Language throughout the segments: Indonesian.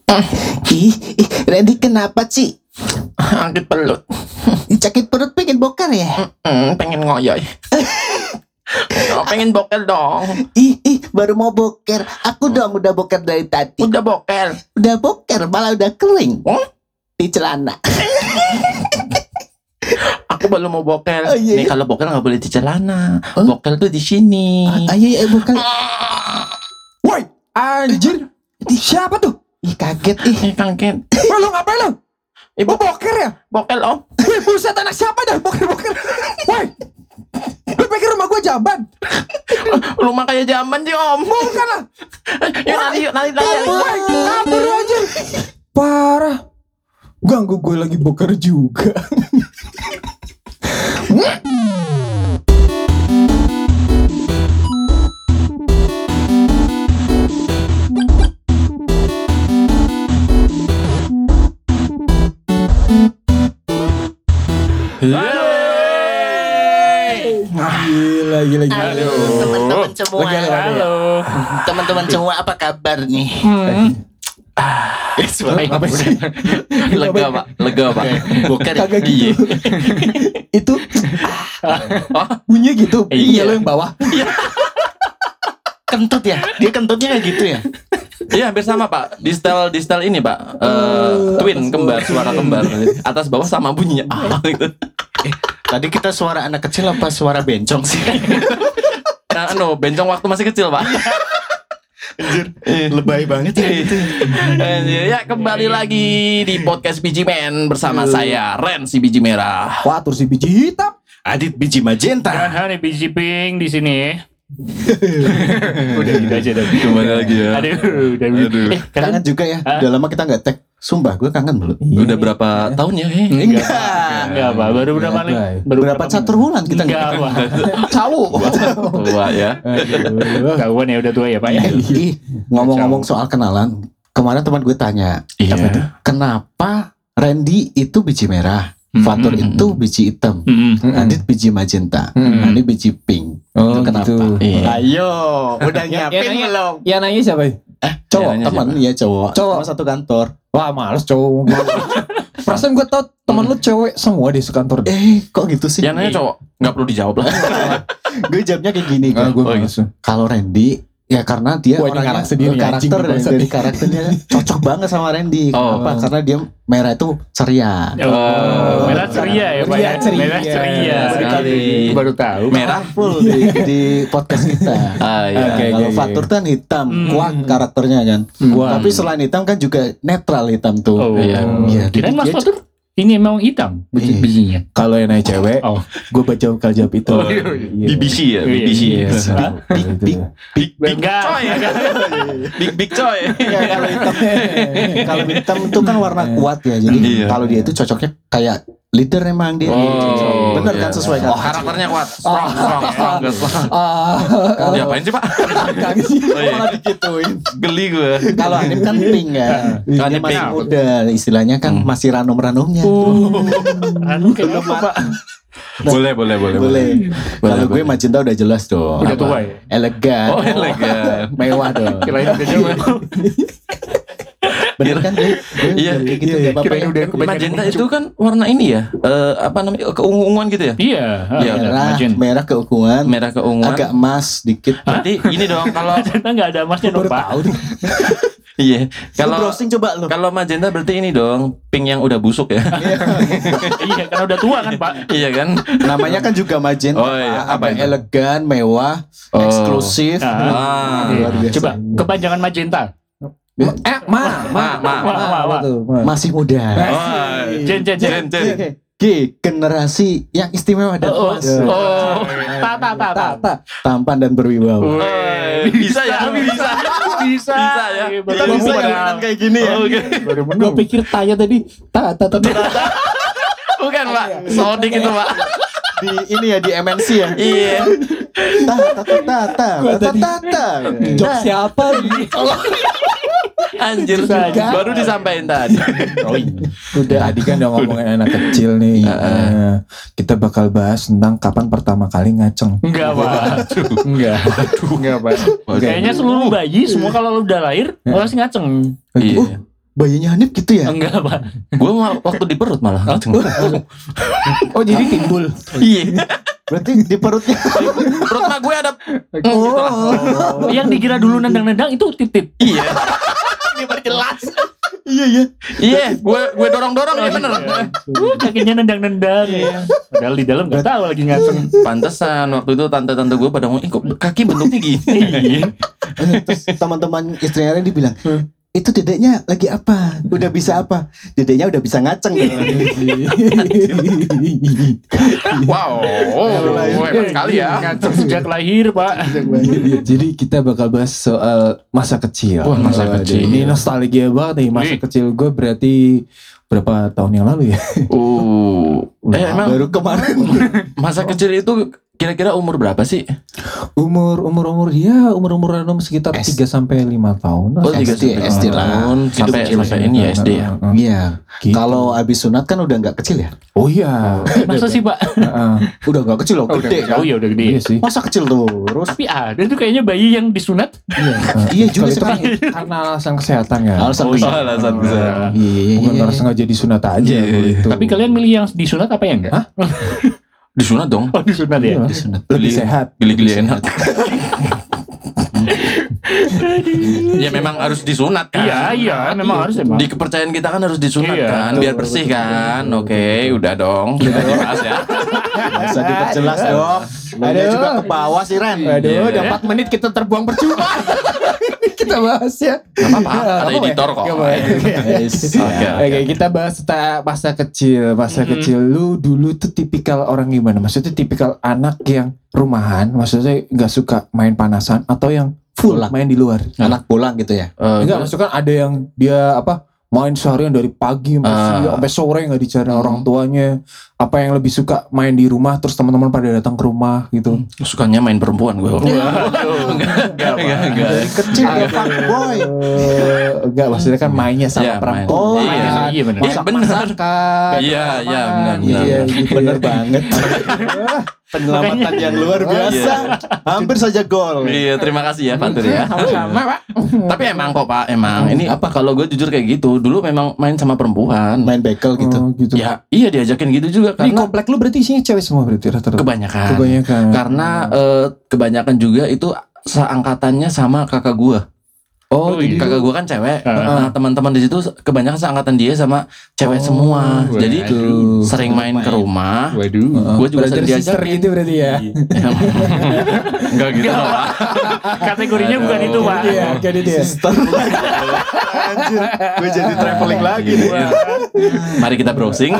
Randy kenapa sih? Sakit perut. Sakit perut pengen bokar ya? Pengen ngoyoy. Pengen boker dong. Baru mau boker. Aku dong udah boker dari tadi. Udah boker. Udah boker malah udah kering. Di celana. Aku baru mau boker. Oh, iya. Nih kalau boker nggak boleh di celana. Boker tuh di sini. Ayo boker. Woi, anjir. Siapa tuh? Kaget Kaget. Wah, lu ngapain lu? Ibu boker ya? Boker om. Wih, buset, anak siapa dah boker. Woi, lu pikir rumah gua jamban? Rumah kayak zaman sih om. Bukan lah. Yuk nari. Woi, kabur aja. Parah. Ganggu gue lagi boker juga. Gila. Teman-teman semua. Halo. Teman-teman semua apa kabar nih? Apa sih? Lega pak. Boker. Kagak gitu. Itu bunyi gitu. Iya. Lo yang bawah. Kentut ya? Dia kentutnya kayak gitu ya? Iya hampir sama pak. Di style ini pak. Twin kembar, suara kembar. Atas bawah sama bunyinya. Gitu. Tadi kita suara anak kecil apa suara bencong sih? Bencong waktu masih kecil pak. Anjir, lebay banget ya itu. Ya kembali lagi di podcast Biji Men bersama saya Ren si biji merah. Watur si biji hitam. Adit biji magenta. Nih biji pink di sini. Udah gitu aja dah. Kembali lagi ya. Aduh. Kangen juga ya. Udah lama kita nggak tag. Sumpah gue kangen belum. Udah berapa tahun ya? Enggak, Pak. Baru berapa nih? Berapa catur bulan kita enggak, Pak. Tahu. Tua ya. Kawan ya udah tua ya, Pak ya. Ngomong-ngomong soal kenalan, kemarin teman gue tanya, Iya. apa itu? Kenapa Randy itu biji merah, Fatur itu biji hitam, Adit biji magenta, ini biji pink. Oh, Itu kenapa? gitu. Iya. Ayo, udah nyiapin belum? Yang nanya siapa? Cowok, nanya teman ya cowok. Cowok. Sama satu kantor. Wah, males cowok. Perasaan gue tau temen lu cewek semua di sekantor. Kok gitu sih? Yang nanya cowok, nggak perlu dijawab lah. Gue jawabnya kayak gini. Gue Oh, males. Kalau Randy, ya karena dia Wah, ini orangnya ngarang sendiri, karakter anjing, bangsat. dari karakternya cocok banget sama Randy. Kenapa? Karena dia merah itu ceria. Merah ceria ya, Pak ya. Ceria. Merah ceria. Sekali. Baru tahu. Merah. Full di podcast kita. Iya. Oke. Kalau Fatur kan hitam, kuat karakternya kan. Tapi selain hitam kan juga netral hitam tuh. Oh, Iya. Iya, Kirain Mas dia- Fatur ini emang hitam bijinya. Kalau yang nanya cewek, Oh. gue baca vokal jawab itu. BBC ya, BBC. Iya. Big Enggak. coy. Big coy. Ya, kalau hitam itu kan warna kuat ya. Jadi Iya. kalau dia itu cocoknya kayak leader emang dia. Oh, Bener kan iya. sesuai kan? Karakternya kuat. Strong. Diapain sih pak? Kagak sih. Oh, iya. Malah digituin. Geli gue. Kalau Anip kan pink ya. Dia Anip masih pink. muda, istilahnya kan masih ranum-ranumnya. Anu kayak apa, Pak? Boleh. Kalau gue magenta udah jelas dong. Udah tua ya? Elegan. Oh elegan. Mewah dong. Kirain udah jauh. Bener kan gue? Iya. Kayak gitu nggak apa-apa Kirain ya. udah kebanyakan. Magenta itu kan warna ini ya. Apa namanya? Keunguan gitu ya. Iya. Iya, Merah keunguan, Merah keunguan. agak emas dikit. Berarti ini dong kalau Magenta nggak ada emasnya dong, Pak. iya. Kalau Kalau browsing coba lo. kalau magenta berarti ini dong, pink yang udah busuk ya. Iya, karena udah tua kan, Pak. Iya kan? Namanya kan juga magenta. Oh, iya. Apa Apa itu? elegan, mewah, Oh. eksklusif. Ah. Luar biasa. Coba kepanjangan magenta. Masih muda. Oh, Jen. Generasi yang istimewa dan emas. Tampan dan berwibawa. Bisa ya, bisa ya. Kita bisa yang kayak gini ya. Oke. Gue pikir tanya tadi. Bukan pak, sodik itu pak. Di ini ya di MNC ya. Iya. Jok siapa? Anjir, baru disampaikan tadi. Oh iya. Tadi kan udah ngomongin anak kecil nih. Kita bakal bahas tentang kapan pertama kali ngaceng. Enggak, Pak. Enggak, Pak. Kayaknya seluruh bayi semua kalau udah lahir pasti ngaceng. Iya. bayinya Hanif gitu ya? Enggak, Pak. Gue waktu di perut malah. Oh jadi timbul. Iya. Berarti di perutnya. Perut mah gue ada. Oh. Yang dikira dulu nendang-nendang itu titit. Iya. Diperjelas. Iya ya. Iya. Gue dorong-dorong ya bener. Kakinya nendang-nendang. Padahal di dalam nggak tahu lagi ngaceng. Pantesan waktu itu tante-tante gue pada ngomong, kok kaki bentuknya gini. Iya. Terus teman-teman istrinya Randy bilang, itu dedeknya lagi apa? Udah bisa apa? Dedeknya udah bisa ngaceng. Wow. Hebat sekali ya. Ngaceng sejak lahir, Pak. Jadi kita bakal bahas soal masa kecil. Wah, masa kecil. Ini nostalgia banget nih masa kecil gue, berarti berapa tahun yang lalu ya? Emang Baru kemarin. masa kecil itu kira-kira umur berapa sih? Umur random sekitar 3 sampai 5 tahun. Oh, SD 3 SD lah. tahun sampai ini ya SD ya. Iya. Gitu. Kalau abis sunat kan udah nggak kecil ya? Oh iya. Masa sih, Pak? Udah nggak kecil loh, gede kan? Oh iya udah gede. Iya sih. Masa kecil tuh, terus Tapi ada tuh kayaknya bayi yang disunat. iya juga Kalau itu kan sekarang. karena alasan kesehatan ya. Alasan Oh, besar. alasan besar. Iya, Bukan karena sengaja disunat aja. Iya, kalau iya. itu. Tapi kalian milih yang disunat apa yang enggak? Disunat dong. Oh disunat ya. Iya. disunat. Lebih Gili- sehat. Gili-gili enak. Ya memang harus disunat kan. Iya, memang harus emang. Di kepercayaan kita kan harus disunat Iya, kan, biar bersih kan. Oke, udah dong. Udah dibahas ya. Bisa diperjelas dong. Ada Aduh. juga ke bawah sih Ren. Aduh, Iya. udah 4 menit kita terbuang percuma. Kita bahas ya. Gak apa-apa, ada editor kok. Yes. Oke. Oke, kita bahas tentang masa kecil. Masa kecil lu dulu tuh tipikal orang gimana? Maksudnya tipikal anak yang rumahan, maksudnya nggak suka main panasan, atau yang full Pulang. main di luar? Anak pulang gitu ya. Enggak, maksudnya kan ada yang dia main seharian dari pagi sampai sore nggak dicari orang tuanya. Apa yang lebih suka main di rumah, terus teman-teman pada datang ke rumah gitu? Sukanya main perempuan gue. Enggak, Dari kecil ya fuckboy. Enggak, maksudnya kan mainnya sama Iya, main. perempuan. Oh, Iya, iya benar. Iya benar. Iya, iya benar. Iya, gitu. Bener banget. Penyelamatan yang luar biasa. Hampir saja gol. Iya, terima kasih ya Pak Tur ya. Sama-sama, Pak. Tapi emang kok Pak, emang ini apa kalau gue jujur kayak gitu, dulu memang main sama perempuan. Main bekel gitu. Oh, gitu. Ya, iya diajakin gitu juga Di karena komplek lu berarti isinya cewek semua berarti rata-rata? kebanyakan. Kebanyakan. Karena kebanyakan juga itu seangkatannya sama kakak gua. Oh, jadi Kakak gua kan cewek. Nah, teman-teman di situ kebanyakan seangkatan dia sama cewek semua. waduh. Jadi sering main ke rumah. Waduh. Gua juga brother sering sister diajakin. gitu berarti ya. Enggak gitu loh, Pak. Kategorinya bukan itu, Pak. Iya, kayak dia. Anjir, gue jadi traveling lagi nih. Mari kita browsing.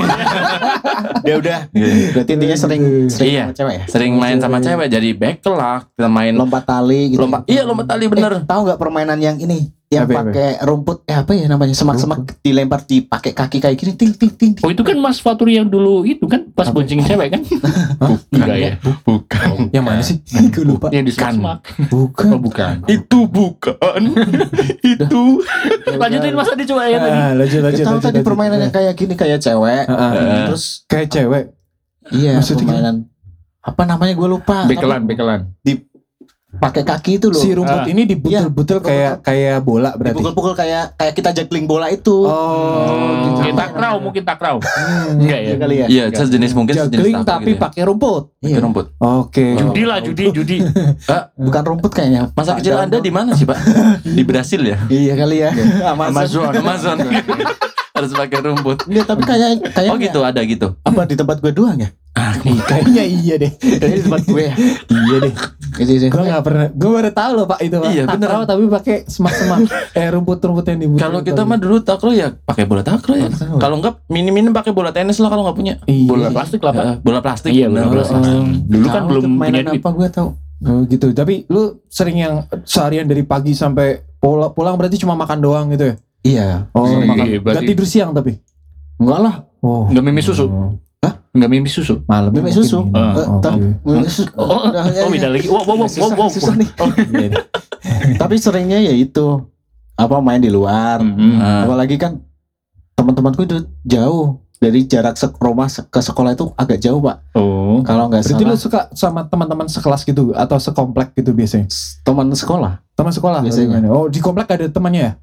Ya udah. Berarti intinya sering Iya. sama cewek ya. Sering main sama cewek jadi bekel lah. Kita main Lompat tali gitu. lompat tali bener. Tahu nggak permainan yang ini? Yang Apa? pakai rumput apa ya namanya? Semak-semak dilempar dipakai kaki kayak gini ting ting ting. Oh itu kan Mas Faturi yang dulu itu kan pas boncengin cewek kan? Enggak ya? Bukan. Yang mana sih? Gue lupa. Yang di semak. Bukan. Oh bukan. Itu bukan. Itu. Lanjutin Mas Adi coba ya tadi. Lanjut. Tahu tadi permainan yang kayak gini kayak cewek. Terus kayak cewek. iya Maksudnya permainan apa namanya gue lupa. Bekelan. Pakai kaki itu loh. Si rumput ini dibutul-butul kayak bola berarti. Dipukul-pukul kayak kita juggling bola itu. Oh, Mungkin takraw. Enggak ya? Iya kali ya. Iya, sejenis mungkin sejenis juggling takraw tapi gitu ya. pakai rumput. Pakai rumput. Oke. Judi. Bukan rumput kayaknya. Masa kecil Anda di mana sih, Pak? Di Brasil ya? Iya kali ya. Amazon. Harus pakai rumput. Iya, tapi kayak Oh gitu, ada gitu. apa di tempat gue doang ya? Kayaknya iya deh. Kayaknya di tempat gue ya. Iya deh. Gitu sih. Gue nggak pernah. Gue baru tahu loh Pak itu Pak. Iya, bener. Takraw tapi pakai semak-semak. Rumput-rumput yang dibutul. Kalau kita mah dulu takraw ya pakai bola takraw ya. Takraw. Kalau enggak minim-minim pakai bola tenis lah kalau enggak punya. Iya. Bola plastik lah Pak. Bola plastik. Iya bola bener. plastik. Dulu kan Tahu belum tuh punya mainan duit. apa gue tahu. Oh gitu. Tapi lu sering yang seharian dari pagi sampai pulang berarti cuma makan doang gitu ya? Iya. Oh, Iya, makan. berarti- Gak tidur siang tapi. Enggak lah. Oh. Enggak mimi susu. Enggak mimi susu. Malam Mimik susu. Mimik susu. Oh, beda lagi. Wow. Susah nih. Iya deh. Tapi seringnya ya itu apa main di luar. Ah. Apalagi kan teman-temanku itu jauh dari jarak rumah ke sekolah itu agak jauh Pak. Oh. Kalau nggak Berarti lu salah suka sama teman-teman sekelas gitu atau sekomplek gitu biasanya? teman sekolah Teman sekolah Biasanya. gimana? Oh, di komplek ada temannya ya?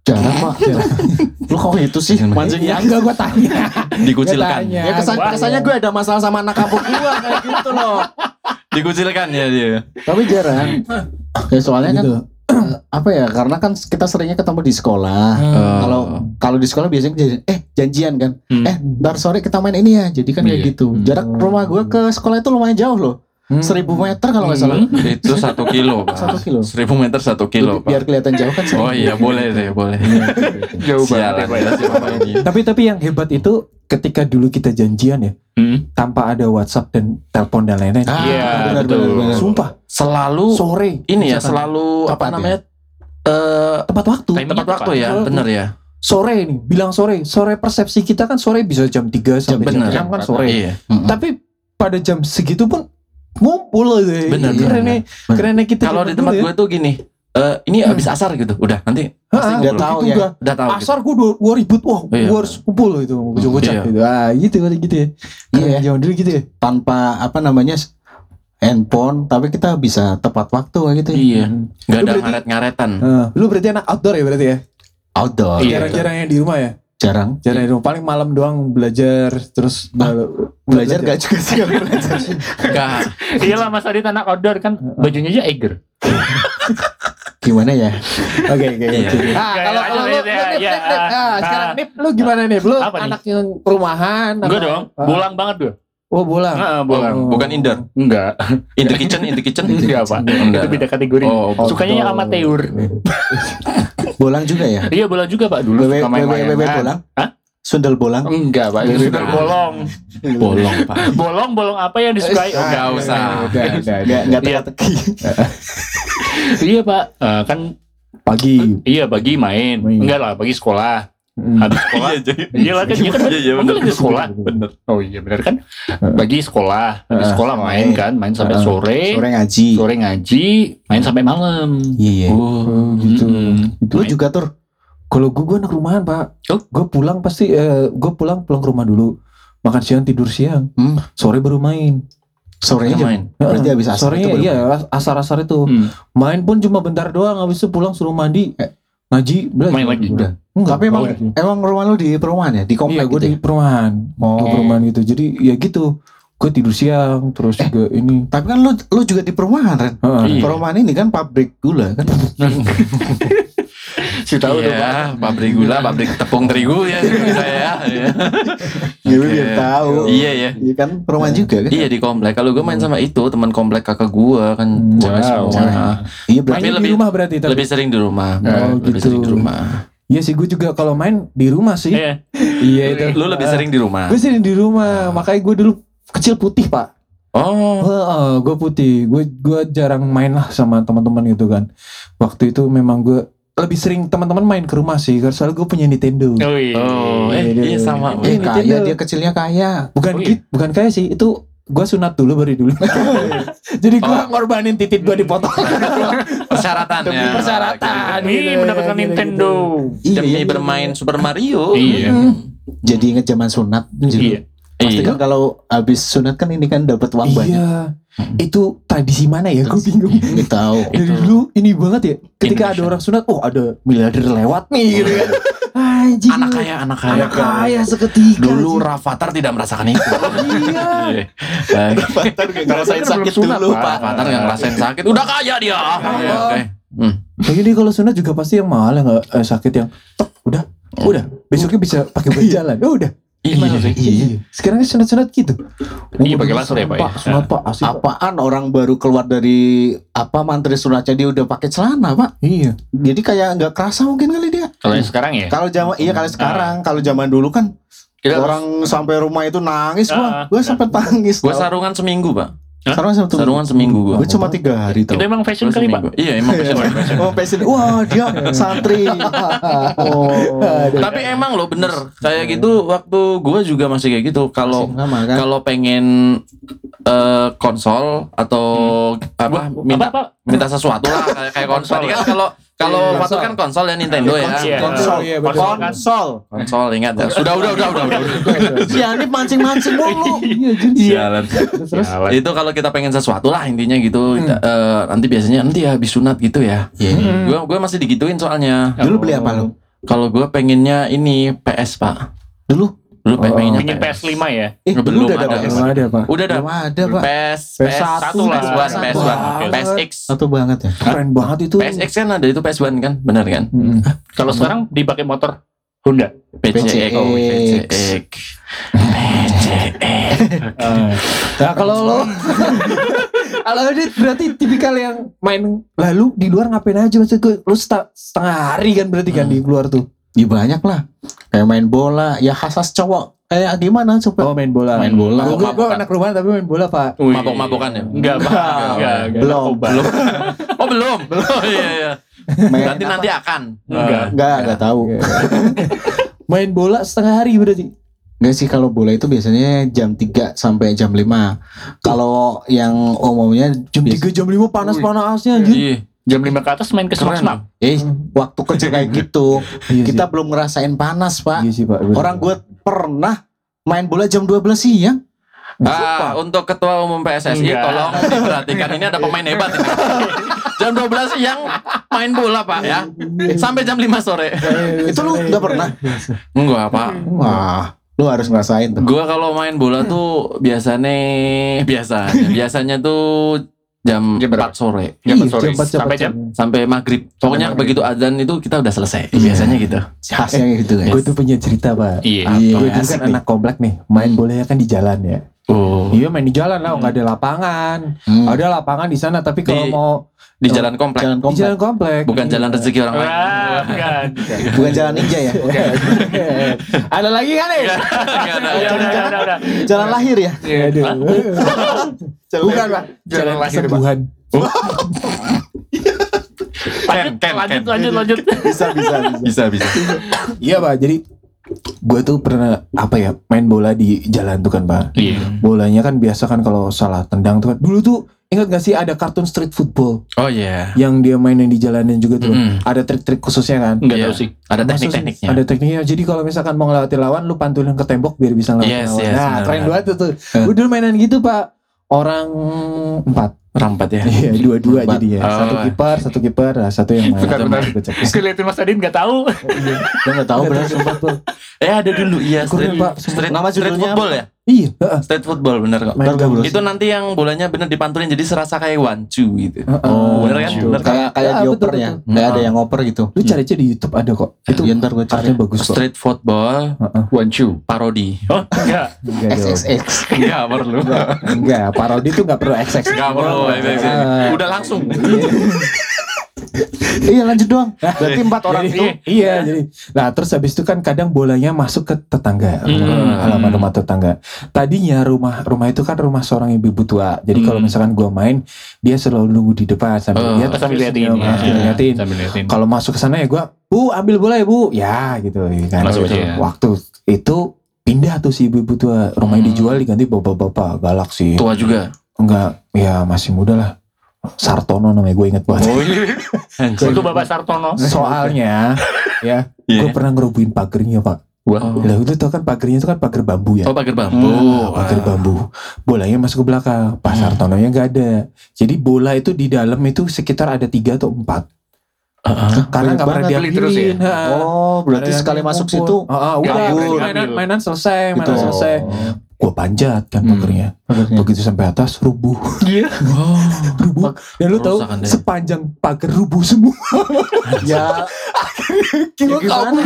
Jarang Pak. Lu kok itu sih mancingnya? Ya enggak gue tanya. Dikucilkan. Gua tanya. Ya kesannya gue ada masalah sama anak kampung gue kayak gitu loh. Dikucilkan ya dia. Tapi jarang. Ya soalnya kan Gitu. apa ya? Karena kan kita seringnya ketemu di sekolah. Kalau di sekolah biasanya janjian kan. Ntar sore kita main ini ya. Jadi kan kayak Iya. gitu. Jarak rumah gue ke sekolah itu lumayan jauh loh. 1.000 meter kalau nggak salah. Itu 1 kilo, Pak. 1 kilo. 1.000 meter 1 kilo, Biar Pak. kelihatan jauh kan. Oh iya, boleh deh, boleh. Jauh Sialan banget. ya si Bapak ini. Tapi yang hebat itu ketika dulu kita janjian ya, tanpa ada WhatsApp dan telepon dan lain-lain. Iya, benar, betul. benar. Sumpah, Selalu sore ini ya, misalkan. selalu apa Tepat ya? namanya? tepat waktu. Timingnya Tepat waktu ya, tepat. bener ya. Sore nih, bilang sore. Sore persepsi kita kan sore bisa jam 3 sampai jam Bener. 6 kan sore. Iya. Tapi pada jam segitu pun ngumpul aja. Bener, Kerennya, bener. kerennya kita Kalau di tempat gue tuh gini, ini habis asar gitu, udah nanti pasti udah ngumpul. tahu ya. Udah tahu. Gitu. Asar gue ribut, wah Iya. gue harus kumpul gitu, bocah-bocah Iya. gitu. Ah gitu ya. Keren Iya. zaman dulu gitu ya. Tanpa apa namanya handphone, tapi kita bisa tepat waktu kayak gitu. Iya. Nggak Lu ada berarti- ngaret-ngaretan. Lu berarti anak outdoor ya berarti ya? Outdoor. Iya. Jarang-jarang yang di rumah ya? Jarang. Jarang di rumah, paling malam doang belajar terus Belajar gak juga sih kalau belajar. Nggak. Iyalah Mas Adit anak outdoor kan bajunya aja Eiger. Gimana ya? Oke. Iya. Ah, kalau Lanjut, lu Nip, ya, Nip, ya. sekarang Nip, lu gimana nih? Lu Apa nih? anak yang rumahan? Enggak apa? dong, Ah. bolang banget gue. Oh, bolang. Bolang. Bukan indoor. Enggak. In the kitchen. Enggak, Pak. Enggak. Itu beda kategori. Oh, Sukanya yang amateur. Bolang juga ya? Iya, bolang juga, Pak. Dulu suka main Wewe bolang? Hah? Sundel bolang? Enggak, Pak. Itu sudah bolong. Bolong, Pak. Bolong apa yang disukai? Oh, Nggak usah. Nggak Iya. teka-teki. Iya, Pak. Kan Pagi. iya pagi main. Enggak lah, pagi sekolah. Habis sekolah. Iya lah kan, iya kan. Iya, Emang bener. lagi sekolah. Bener. Oh iya benar kan. Pagi sekolah, habis sekolah main kan, main sampai sore. Sore ngaji. Sore ngaji, main sampai malam. Iya. Oh, gitu. Lu juga tur? Kalau gue anak rumahan, Pak. Oh. Gue pulang pasti gue pulang ke rumah dulu. Makan siang, tidur siang. Sore baru main. Sorenya Main. Berarti habis asar Sorenya itu baru iya, asar-asar itu. Main pun cuma bentar doang, habis itu pulang suruh mandi, ngaji, belajar. Main lagi. Udah. Enggak, Tapi emang rumah lu di perumahan ya? Di iya, komplek gue gitu di ya? perumahan. Oh. Di perumahan gitu. Jadi ya gitu. Gue tidur siang, terus juga ini. Tapi kan lu juga di perumahan, Ren. Iya. Perumahan ini kan pabrik gula kan? Si tahu tuh, Pak. Iya, pabrik gula, pabrik tepung terigu ya saya. Ya. Ya lu biar tahu. Iya ya. Iya kan perumahan juga kan? Iya di komplek. Kalau gue main sama itu teman komplek kakak gue kan cewek Wow. semua. Iya berarti Mainnya di lebih- rumah berarti tapi. Lebih sering di rumah. Oh, Lebih gitu. sering di rumah. Iya sih, gue juga kalau main di rumah sih. Iya. Iya itu. Lu lebih sering di rumah. Gue sering di rumah, makanya gue dulu kecil putih, Pak. Oh. Gue putih. Gue jarang main lah sama teman-teman gitu kan. Waktu itu memang gue lebih sering teman-teman main ke rumah sih, karena soalnya gue punya Nintendo. Oh iya. Oh, iya sama. Iya, kaya, Nintendo. dia kecilnya kaya. Bukan Oh, iya. bukan kayak sih, itu gue sunat dulu baru dulu. Jadi gue ngorbanin titik gue dipotong. Persyaratan Demi ya. persyaratan. Ini mendapatkan Gitu. Nintendo. Demi bermain Super Mario. Iya. Jadi inget zaman sunat. Iya. Pasti Iya. kan kalau habis sunat kan ini kan dapat uang banyak. Iya. Itu tradisi mana ya? Gue bingung. Nggak tahu. Dari dulu ini banget ya. Ketika ada Indonesia. orang sunat, oh ada miliarder lewat nih gitu kan. Anjing. Anak kaya. Anak kaya seketika. Dulu anjing. Rafathar tidak merasakan itu. Iya. Rafathar gak ngerasain Kan sakit belum sunat, dulu Pak. Pak. Rafathar yang ngerasain sakit. Udah kaya dia. Iya, oke. Lagi nih kalau sunat juga pasti yang mahal ya nggak sakit yang tek, udah besoknya bisa pakai berjalan. Udah. Iya sih. Iya. Sekarang sunat-sunat gitu. Iya, pakai laser ya, Pak, ya? Sunat Pak, asik Pak. Apaan orang baru keluar dari mantri sunatnya dia udah pakai celana Pak. Iya. Jadi kayak nggak kerasa mungkin kali dia. Kalau yang sekarang ya. Kalau zaman kali sekarang, kalau zaman dulu kan Kita orang sampai rumah itu nangis Ah, gua sampai nangis. Gue sarungan seminggu, Pak. Sarungan seminggu gua. Gue cuma 3 hari tau. Itu emang fashion Gua kali, seminggu. Pak. Iya, emang fashion. Oh passion. Wah dia santri. Oh. Tapi emang lo bener kayak gitu waktu gue juga masih kayak gitu. Kalau Sama kan. kalau pengen konsol atau minta sesuatu lah kayak konsol. Tadi kan kalau Iya, Fatur kan konsol ya Nintendo ya. Iya. Konsol. Iya, betul. Konsol. Konsol ingat ya. Sudah. Si Anip mancing-mancing mulu. Iya, jadi Sialan. terus Itu kalau kita pengen sesuatu lah intinya gitu. Nanti biasanya nanti ya habis sunat gitu ya. Iya. Gue masih digituin soalnya. Dulu beli apa lo? Kalau gue pengennya ini PS Pak. Dulu pengennya Pingin PS5 ya. Belum udah ada. Belum ada Pak. Udah ada. Belum ada, Pak. PS1 PS1 lah. PSX. Satu banget ya. Keren banget itu. PSX kan ada itu PS1 kan, benar kan? Kalau sekarang dipakai motor Honda. PCX. Oh, PCX. Nah kalau lo kalau ini berarti tipikal yang main lalu di luar ngapain aja maksudnya lu setengah hari kan berarti kan di luar tuh. Ya banyak lah. Kayak main bola, ya khas cowok. Kayak gimana coba? Oh main bola. Main bola. Gue anak rumahan tapi main bola Pak. Mabok-mabokan ya? Enggak, enggak. Belum. Oh belum. Oh iya. Main Nanti akan. Enggak tahu. Main bola setengah hari berarti. Enggak sih, kalau bola itu biasanya jam 3 sampai jam 5. Kalau yang umumnya Jam 3 jam 5 panas-panasnya anjir. Iya. Jam 5 ke atas main ke Semak. waktu kerja kayak gitu. Iya Kita sih. belum ngerasain panas, Pak. Iya sih Pak. bener. Orang gue pernah main bola jam 12 siang. Untuk ketua umum PSSI Enggak. tolong diperhatikan, ini ada pemain hebat ini. Jam 12 siang main bola Pak ya. Sampai jam 5 sore. Itu lu nggak pernah? Enggak Pak. Wah, lu harus ngerasain tuh. Gua kalau main bola tuh biasanya tuh jam Jam 4 berapa? sore Jam Iya, 4 sore. jam 4 Sampai jam sampai maghrib. Pokoknya maghrib. begitu azan itu kita udah selesai. Iya. Biasanya gitu. Khasnya gitu kan. Gue tuh punya cerita Pak. Iya. Gue dulu asik kan anak komplek nih. Main bolanya kan di jalan ya. Oh. Iya main di jalan lah, nggak ada lapangan. Ada lapangan di sana tapi kalau Di- mau Di jalan komplek. Jalan di komplek. jalan komplek. Bukan jalan rezeki orang lain. Bukan. Bukan jalan ninja ya. Ada lagi kan nih? Enggak ada. Udah. Jalan lahir ya. Bukan Pak. Jalan lahir, Pak. kesembuhan. Lanjut. Bisa. Iya Pak. Jadi gue tuh pernah main bola di jalan tuh kan Pak. Iya. Bolanya kan biasa kan kalau salah tendang tuh kan. Dulu tuh ingat gak sih ada kartun street football Oh iya. yang dia mainin di jalanan juga tuh. Mm-mm. Ada trik-trik khususnya kan. Enggak Iya. tahu sih. Ada Maksud- teknik-tekniknya. Ada tekniknya. Jadi kalau misalkan mau ngelewati lawan, lu pantulin ke tembok biar bisa ngelewatin Yes, lawan. yes, Nah, benar, keren benar. banget tuh. Gue dulu mainan gitu Pak. Orang 4. Rampat ya. Iya, 2-2 Empat. jadinya. Oh. Satu kiper, nah, satu yang main. Bentar. Gue cek. Gue liatin Mas Adin nggak tahu. Gue nggak tahu benar sumpah tuh. Ada dulu iya Keren, Pak. Nama street judulnya football ya. Iya, heeh. Street football bener kok. Main Ntar gue gabus. Itu nanti yang bolanya bener dipantulin jadi serasa kayak wancu gitu. Oh, bener kan? Bener kan? Kayak Ah, dioper betul, ya. betul. Kayak ada yang ngoper gitu. Lu cari aja di YouTube ada kok. Itu Iya, ntar gue cari. artinya bagus kok. Street football One Chu. parodi. Oh, enggak. Enggak dong. XXX. Enggak perlu. Enggak, parodi itu enggak perlu XX. Enggak perlu. Ah. Udah langsung. Iya lanjut doang. Berarti 4 orang Jadi, itu. iya jadi nah terus habis itu kan kadang bolanya masuk ke tetangga Hmm. halaman rumah tetangga. Tadinya rumah itu kan rumah seorang ibu tua, jadi kalau misalkan gua main dia selalu nunggu di depan sambil lihat Sambil terus liatin. dia sambil liatin. Sambil liatin. Kalau masuk ke sana ya gua Bu ambil bola ya Bu ya gitu kan. Masuk Gitu. aja ya. Waktu itu pindah tuh si ibu tua, rumahnya dijual diganti bapak-bapak galak sih. Tua juga. Enggak, ya masih muda lah. Sartono namanya gue inget banget. Itu Bapak Sartono. Soalnya ya Iya. gue pernah ngerubuhin pagernya Pak. Wah. Lah itu tau kan pagernya itu kan pagar bambu ya. Oh pagar bambu. Pagar bambu. Bolanya masuk ke belakang. Pak Sartononya nggak ada. Jadi bola itu di dalam itu sekitar ada 3 atau 4. Karena nggak pernah banget. Beli terus diambilin. ya? Oh, berarti Ada sekali yang masuk ngumpul. situ. Udah kabur. mainan selesai, mainan Gitu. selesai. Gue panjat kan pagernya. Pagernya. Begitu sampai atas rubuh. Iya. Rubuh. Dan lu tahu Kerusakan deh. sepanjang pagar rubuh semua. Ya Gila gimana?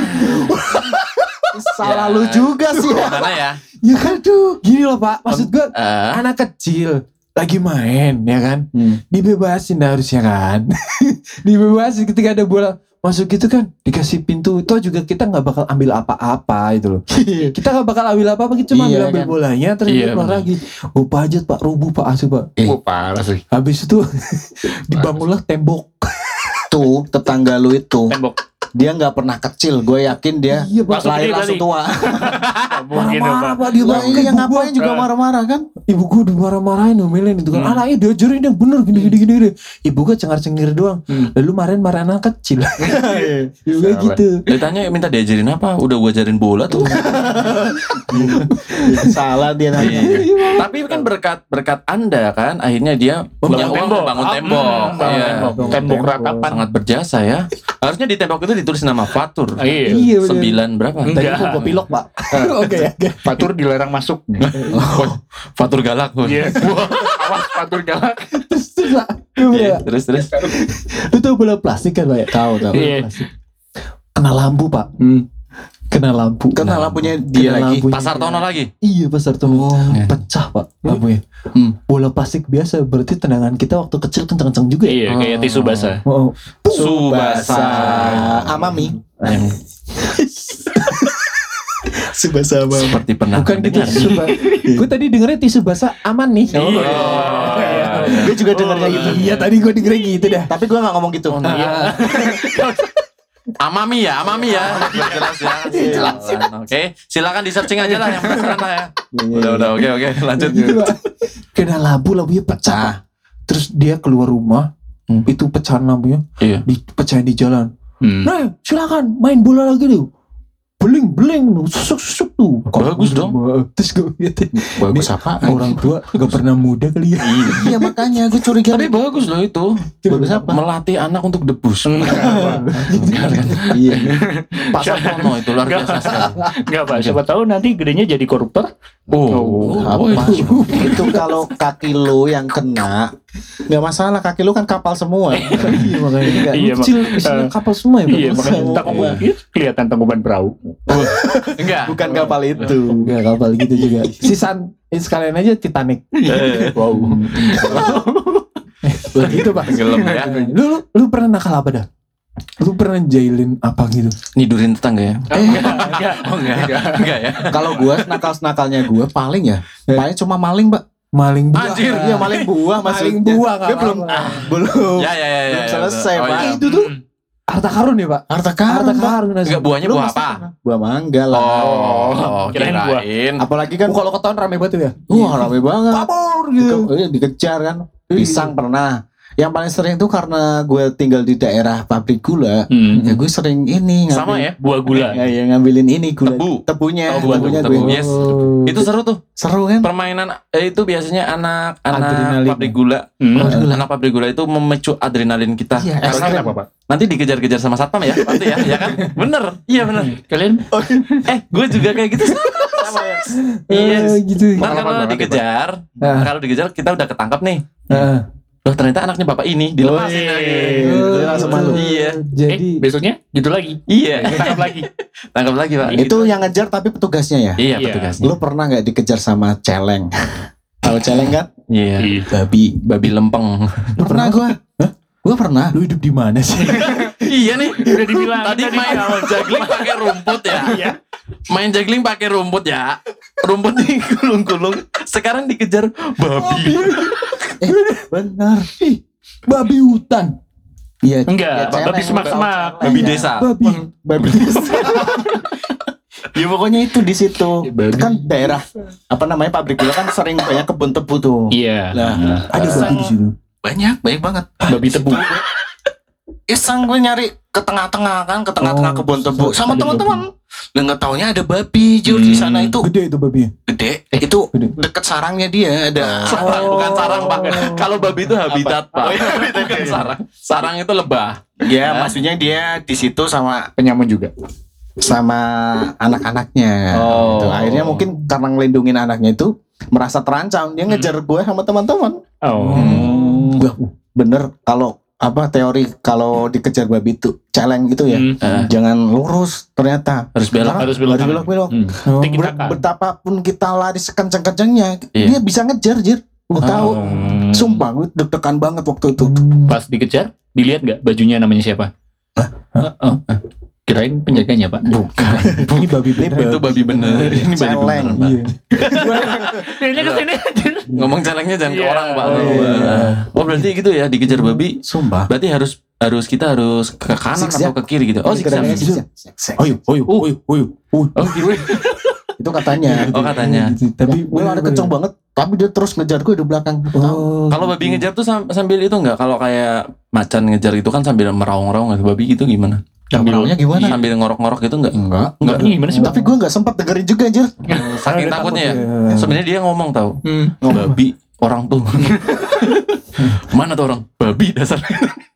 Salah lu juga sih. Mana ya? Ya kan tuh. Gini loh Pak. Maksud gue Eh, anak kecil lagi main ya kan. Dibebasin harusnya kan. Dibebasin ketika ada bola masuk gitu kan, dikasih pintu itu juga kita nggak bakal ambil apa-apa itu loh. Kita nggak bakal ambil apa-apa, kita cuma Iya, ambil kan? bolanya terus Iya, keluar benar. lagi. Oh pajat Pak, rubuh Pak asu Pak. Oh, parah sih. Habis itu dibangunlah tembok. Tuh tetangga lu itu Tembok. dia nggak pernah kecil. Gue yakin dia Iya, Pak. lahir Langsung langsung gede tua. Mungkin Marah-marah Pak. Pak dia Lah bangun. iya ngapain juga marah-marah kan? Ibu gue udah marah-marahin ngomelin itu kan. Anaknya diajarin yang bener gini. Ibu gue cengar-cengir doang. Lalu marah anak kecil. Ibu gue gitu. Ditanya minta diajarin apa? Udah gua ajarin bola tuh. Salah dia nanya. Tapi kan berkat Anda kan akhirnya dia punya uang tembok. bangun tembok. Bangun Iya. tembok. Tembok ratapan. Sangat berjasa ya. Harusnya di tembok itu ditulis nama Fatur. Iya. Iya, bener. 9 berapa? Enggak. Tadi gua pilok, Pak. Oke ya. Fatur dilarang masuk. Fatur galak. Iya. Awas Fatur galak. Iya, terus. Lu tau bola plastik kan, Pak ya? Tahu. Iya. Kena lampu, Pak. Kena lampu. Kena lampunya dia lagi. lampunya. Pasar Tono lagi. Iya, Pasar Tono. Pecah, Pak, lampunya. Bola plastik biasa, berarti tendangan kita waktu kecil kencang-kencang juga ya? Iya, kayak tisu basah. Oh. Subasa. Amami. Yang Subasa Amami. seperti pernah Bukan gitu, mendengar. tisu basah. Gue tadi dengernya tisu basah aman nih. Iya. Gue juga dengarnya gitu. Iya, tadi gue dengernya gitu dah. Tapi gue gak ngomong gitu. Iya. Amami ya. Biar jelas ya. Jelas. Oke, silakan di searching aja lah yang penasaran lah ya. Udah, oke, lanjut. Gitu, Pak. Kena lampunya pecah. Terus dia keluar rumah, itu pecahan lampunya, Iya. dipecahin di jalan. Nah, silakan main bola lagi deh. Beling, susuk tuh. Bagus dong. Terus gue liatin, Bagus apa? orang tua gak pernah muda kali ya. Iya makanya gue curiga. Tapi bagus loh itu. Bagus apa? Melatih anak untuk debus. Iya. Pak Sartono itu luar biasa sekali. Enggak, Pak. Siapa tahu nanti gedenya jadi koruptor. Apa? Itu kalau kaki lu yang kena, nggak masalah, kaki lu kan kapal semua. Iya makanya. Iya, Kecil isinya kapal semua ya. Pak? Iya, makanya tangkuban kelihatan tangkuban perahu. Enggak. Bukan kapal itu. Enggak kapal gitu juga. Sisan sekalian aja Titanic. Wow. Begitu, Pak. Tenggelam ya. Lu pernah nakal apa dah? Lu pernah jailin apa gitu? Nidurin tetangga ya? Enggak. Oh enggak ya. Kalau gue nakalnya gue paling cuma maling, Pak. Maling buah. Anjir. Iya, maling buah Maling maksudnya. buah Gue belum Ya. belum selesai, Oh, Pak. iya. Itu tuh harta karun ya, Pak? Harta karun, Harta Pak. karun. Enggak, buahnya Lu buah pasti apa? pernah. Buah mangga lah. Oh, Kirain buah. kirain. Apalagi kan Kalau ketahuan rame banget tuh ya. wah rame banget. Kabur gitu. Dikejar kan. Pisang pernah. Yang paling sering tuh karena gue tinggal di daerah pabrik gula. Ya gue sering ini ngambil. Sama ya? Buah gula. Ya ngambilin ini gula. Tebu. Tebunya. Oh, buah tebunya tebu. gue. Yes. Itu seru tuh. Seru kan? Permainan itu biasanya anak Adrenalin. pabrik gula. Anak pabrik gula itu memicu adrenalin kita. Iya, Karena ekstrim. Apa, Pak? nanti dikejar-kejar sama satpam ya, nanti ya kan? Bener, iya bener. Kalian Gue juga kayak gitu sama ya. Iya. Gitu. Ntar kalau dikejar, kita udah ketangkap nih. Loh ternyata anaknya bapak ini dilepasin lagi. Itu langsung malu. Iya. Jadi besoknya gitu lagi. Iya. Tangkap lagi. Tangkap lagi pak. Itu yang ngejar tapi petugasnya ya. Iya Iya. petugasnya. Lu pernah nggak dikejar sama celeng? Tahu celeng kan? Iya. Babi. Babi lempeng. Lu pernah gua? Gua pernah. lu hidup di mana sih? Iya nih. Udah dibilang Tadi main juggling pakai rumput ya. Iya. Main juggling pakai rumput ya. Rumput nih gulung-gulung. Sekarang dikejar babi. Benar. Babi hutan. Iya. Enggak, celeng. babi semak-semak. Babi desa. Babi. Ya pokoknya itu di situ. Babi. Kan daerah apa namanya pabrik gula kan sering banyak kebun tebu tuh. Iya. Nah, Ada babi di situ. banyak banget. Babi tebu. Iseng gue nyari ke tengah-tengah kan, ke tengah-tengah Oh, kebun tebu sama ada teman-teman. Lah nggak taunya ada babi jur di sana itu Gede itu babi. gede. Itu Gede. deket sarangnya dia ada. Sarang, bukan sarang pak. Kalau babi itu habitat pak. Oh, iya, Bukan sarang. Sarang itu lebah. Ya, maksudnya dia di situ sama Penyamun juga. anak-anaknya. Oh. Gitu. Akhirnya mungkin karena ngelindungin anaknya itu merasa terancam, dia ngejar gue sama teman-teman. Oh. Wah, bener kalau apa teori kalau dikejar babi itu celeng gitu ya. Jangan lurus ternyata. Harus belok. Karena Harus belok kanan. belok. Oh. Tik-takan. Betapapun kita lari sekenceng-kencengnya, Iya. dia bisa ngejar, Jir. Gue tahu. Sumpah, gue deg-degan banget waktu itu. Pas dikejar, dilihat nggak bajunya namanya siapa? Oh. Kirain penjaganya pak. Bukan. Ini babi beneran. Itu babi bener. Ini babi Celeng. bener, Pak. Iya. Kayaknya kesini. Ngomong celengnya jangan ke Iya. orang pak. Oh, iya. Oh berarti gitu ya dikejar babi. Sumpah. Berarti kita harus ke kanan Zigzag. atau ke kiri gitu. Oh zigzag. Zigzag. Oyo. Oh gitu. Itu katanya. Oh katanya. Gitu. Tapi Gue lari kenceng banget, tapi dia terus ngejar gue di belakang. Oh. Kalau babi ngejar tuh sambil itu enggak? Kalau kayak macan ngejar itu kan sambil meraung-raung gitu. Babi gitu gimana? Maunya gimana? Sambil ngorok-ngorok gitu enggak? Enggak. Enggak. Ini gimana sih pak? Tapi gue nggak sempat dengerin juga, Jir. Saking Ada takutnya ya. takut ya. Sebenarnya dia ngomong tahu. Babi orang tuh. Mana tuh orang? Babi dasar.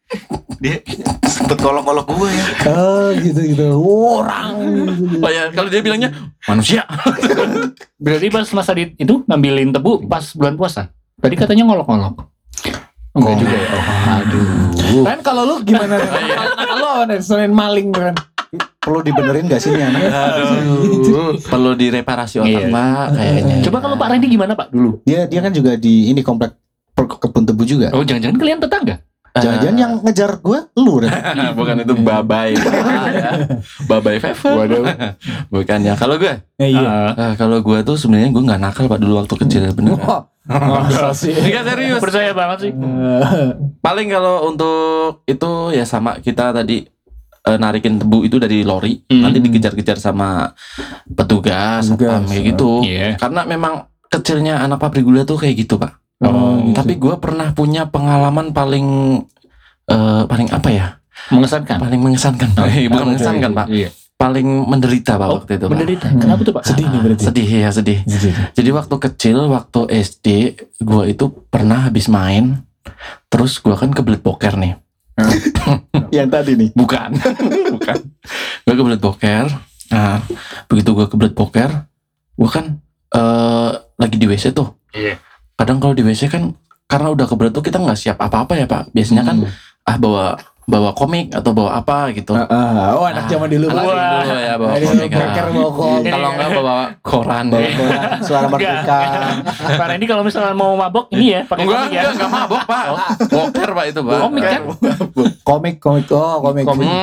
Dia sempet kolok-kolok gue ya. Oh gitu. Orang. Oh ya, kalau dia bilangnya manusia. Berarti pas masa itu ngambilin tebu pas bulan puasa. Tadi katanya ngolok-ngolok. Enggak juga ya. Aduh. Kan kalau lu gimana? Kalau selain maling kan. Perlu dibenerin gak sih nih anak? Aduh, perlu direparasi otak Iya. Pak kayaknya. Coba kalau Pak Randy gimana Pak dulu? Dia kan juga di ini komplek kebun tebu juga. Oh jangan-jangan kalian tetangga? Jangan-jangan yang ngejar gue lu Ren. Bukan itu babai. Ya. Babai fever. Waduh. Bukan ya. Kalau gue, Ah, kalau gue tuh sebenarnya gue nggak nakal Pak dulu waktu kecil bener. Masa sih? Enggak serius. percaya banget sih. Paling kalau untuk itu ya sama kita tadi narikin tebu itu dari lori, nanti dikejar-kejar sama petugas satpam kayak gitu. Iya. Karena memang kecilnya anak pabrik gula tuh kayak gitu Pak. Gitu. Tapi gue pernah punya pengalaman paling apa ya? Mengesankan. Paling mengesankan. Bukan mengesankan Pak. Iya. Paling menderita Pak waktu itu Pak. Menderita. Kenapa tuh Pak? Sedih nih berarti. Sedih ya sedih. Jadi waktu kecil, waktu SD, gue itu pernah habis main, terus gue kan kebelet boker nih. Yang tadi nih. Bukan. Gue kebelet boker. Nah, begitu gue kebelet boker, gue kan lagi di WC tuh. Iya. Kadang kalau di WC kan karena udah kebelet tuh kita nggak siap apa-apa ya Pak. Biasanya kan bawa komik atau bawa apa gitu. Oh anak zaman dulu. Anak zaman dulu ya bawa Aduh, komik. boker bawa komik. Kalau nggak bawa koran. Suara merdeka. Pak Randy kalau misalnya mau mabok ini ya pakai komik ya. Enggak mabok Pak. Boker Pak itu Pak. Komik kan? Komik. Oh komik.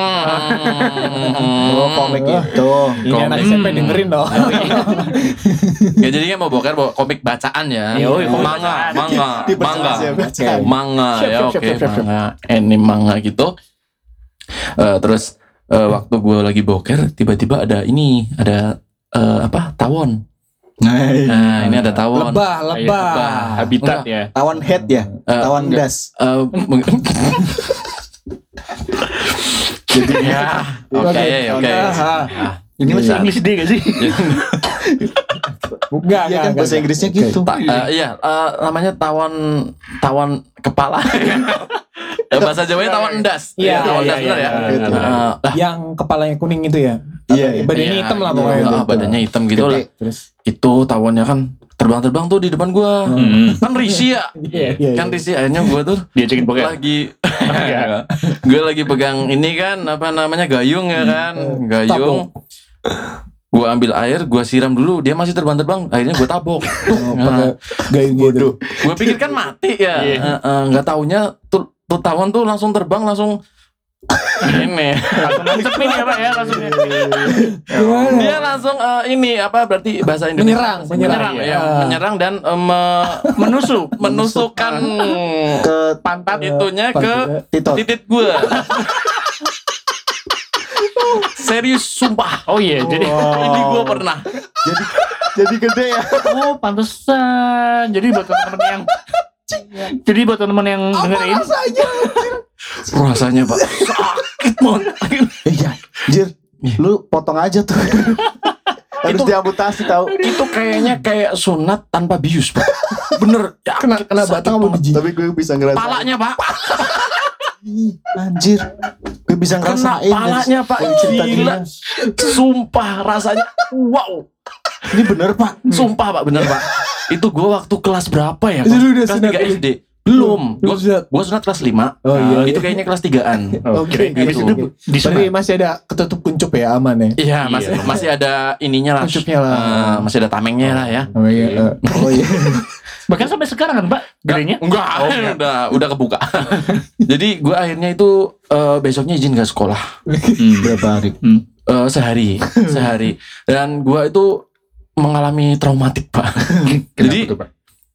Oh komik itu. Ini anak SMP dengerin dong. Ya jadinya mau boker bawa komik bacaan ya. Yoi, komik Manga. Diperjelas ya, bacaan. Manga ya Siap, oke. siap, siap. Manga. Anime manga gitu. Terus waktu gue lagi boker tiba-tiba ada tawon. Nah ini ada tawon. Lebah. Habitat Enggak. ya. Tawan head ya. Tawan enggak. das. Jadi ya oke. Ini Bahasa masih Inggris dia gak sih? Enggak. Iya kan bahasa Inggrisnya gitu. Iya namanya tawon kepala. Bahasa Jawanya tawon endas. Iya, Tawon endas iya, benar ya. iya. Yang kepalanya kuning itu ya. Iya. Badannya hitam lah pokoknya. Iya, badannya hitam gitu lah. Terus. Itu tawonnya kan terbang-terbang tuh di depan gua. Kan risih ya. Iya. Kan risih akhirnya gua tuh Dia cekin boker. lagi gue lagi pegang ini kan apa namanya gayung ya kan. Gayung. Gua ambil air, gua siram dulu, dia masih terbang-terbang, akhirnya gua tabok. Pakai gayung gitu. Gua pikir kan mati ya. Nggak taunya tuh tawon tuh langsung terbang langsung ini. Langsung nancep ini ya Pak ya langsung. Dia langsung ini apa berarti bahasa Indonesia? Menyerang. Ya, menyerang dan menusukkan Ke pantat itunya ke titot. titik gua. Serius sumpah. Oh iya, jadi Ini gua pernah. Jadi gede ya. oh pantesan. Jadi buat teman-teman yang dengerin, Rasanya Pak sakit banget. Iya. Jir. Lu potong aja tuh. Harus diamputasi tahu. Itu kayaknya kayak sunat tanpa bius Pak. Bener. Ya, Kena batang apa biji? Tapi gue bisa ngerasain. palanya Pak. Ih, anjir. Gue bisa Kena ngerasain. palanya Pak. Cerita Gila. Sumpah rasanya. Wow. Ini bener Pak. Sumpah Pak bener Pak. Itu gua waktu kelas berapa ya Pak? Jadi lu udah Kelas sunat 3 dulu? SD. Belum. Belum sunat. Gua sunat kelas 5. Oh iya. Itu kayaknya kelas 3-an. Oke. habis gitu. itu disunat. Tapi masih ada ketutup kuncup ya, aman ya. Iya, masih ada ininya lah. Kuncupnya lah. Masih ada tamengnya lah ya. Oh iya. Oh iya. Bahkan sampai sekarang kan Pak, gedenya. Enggak, udah kebuka. Jadi gua akhirnya itu besoknya izin gak sekolah. Berapa hari? Sehari. Dan gua itu mengalami traumatik Pak. Jadi Kenapa tuh, Pak?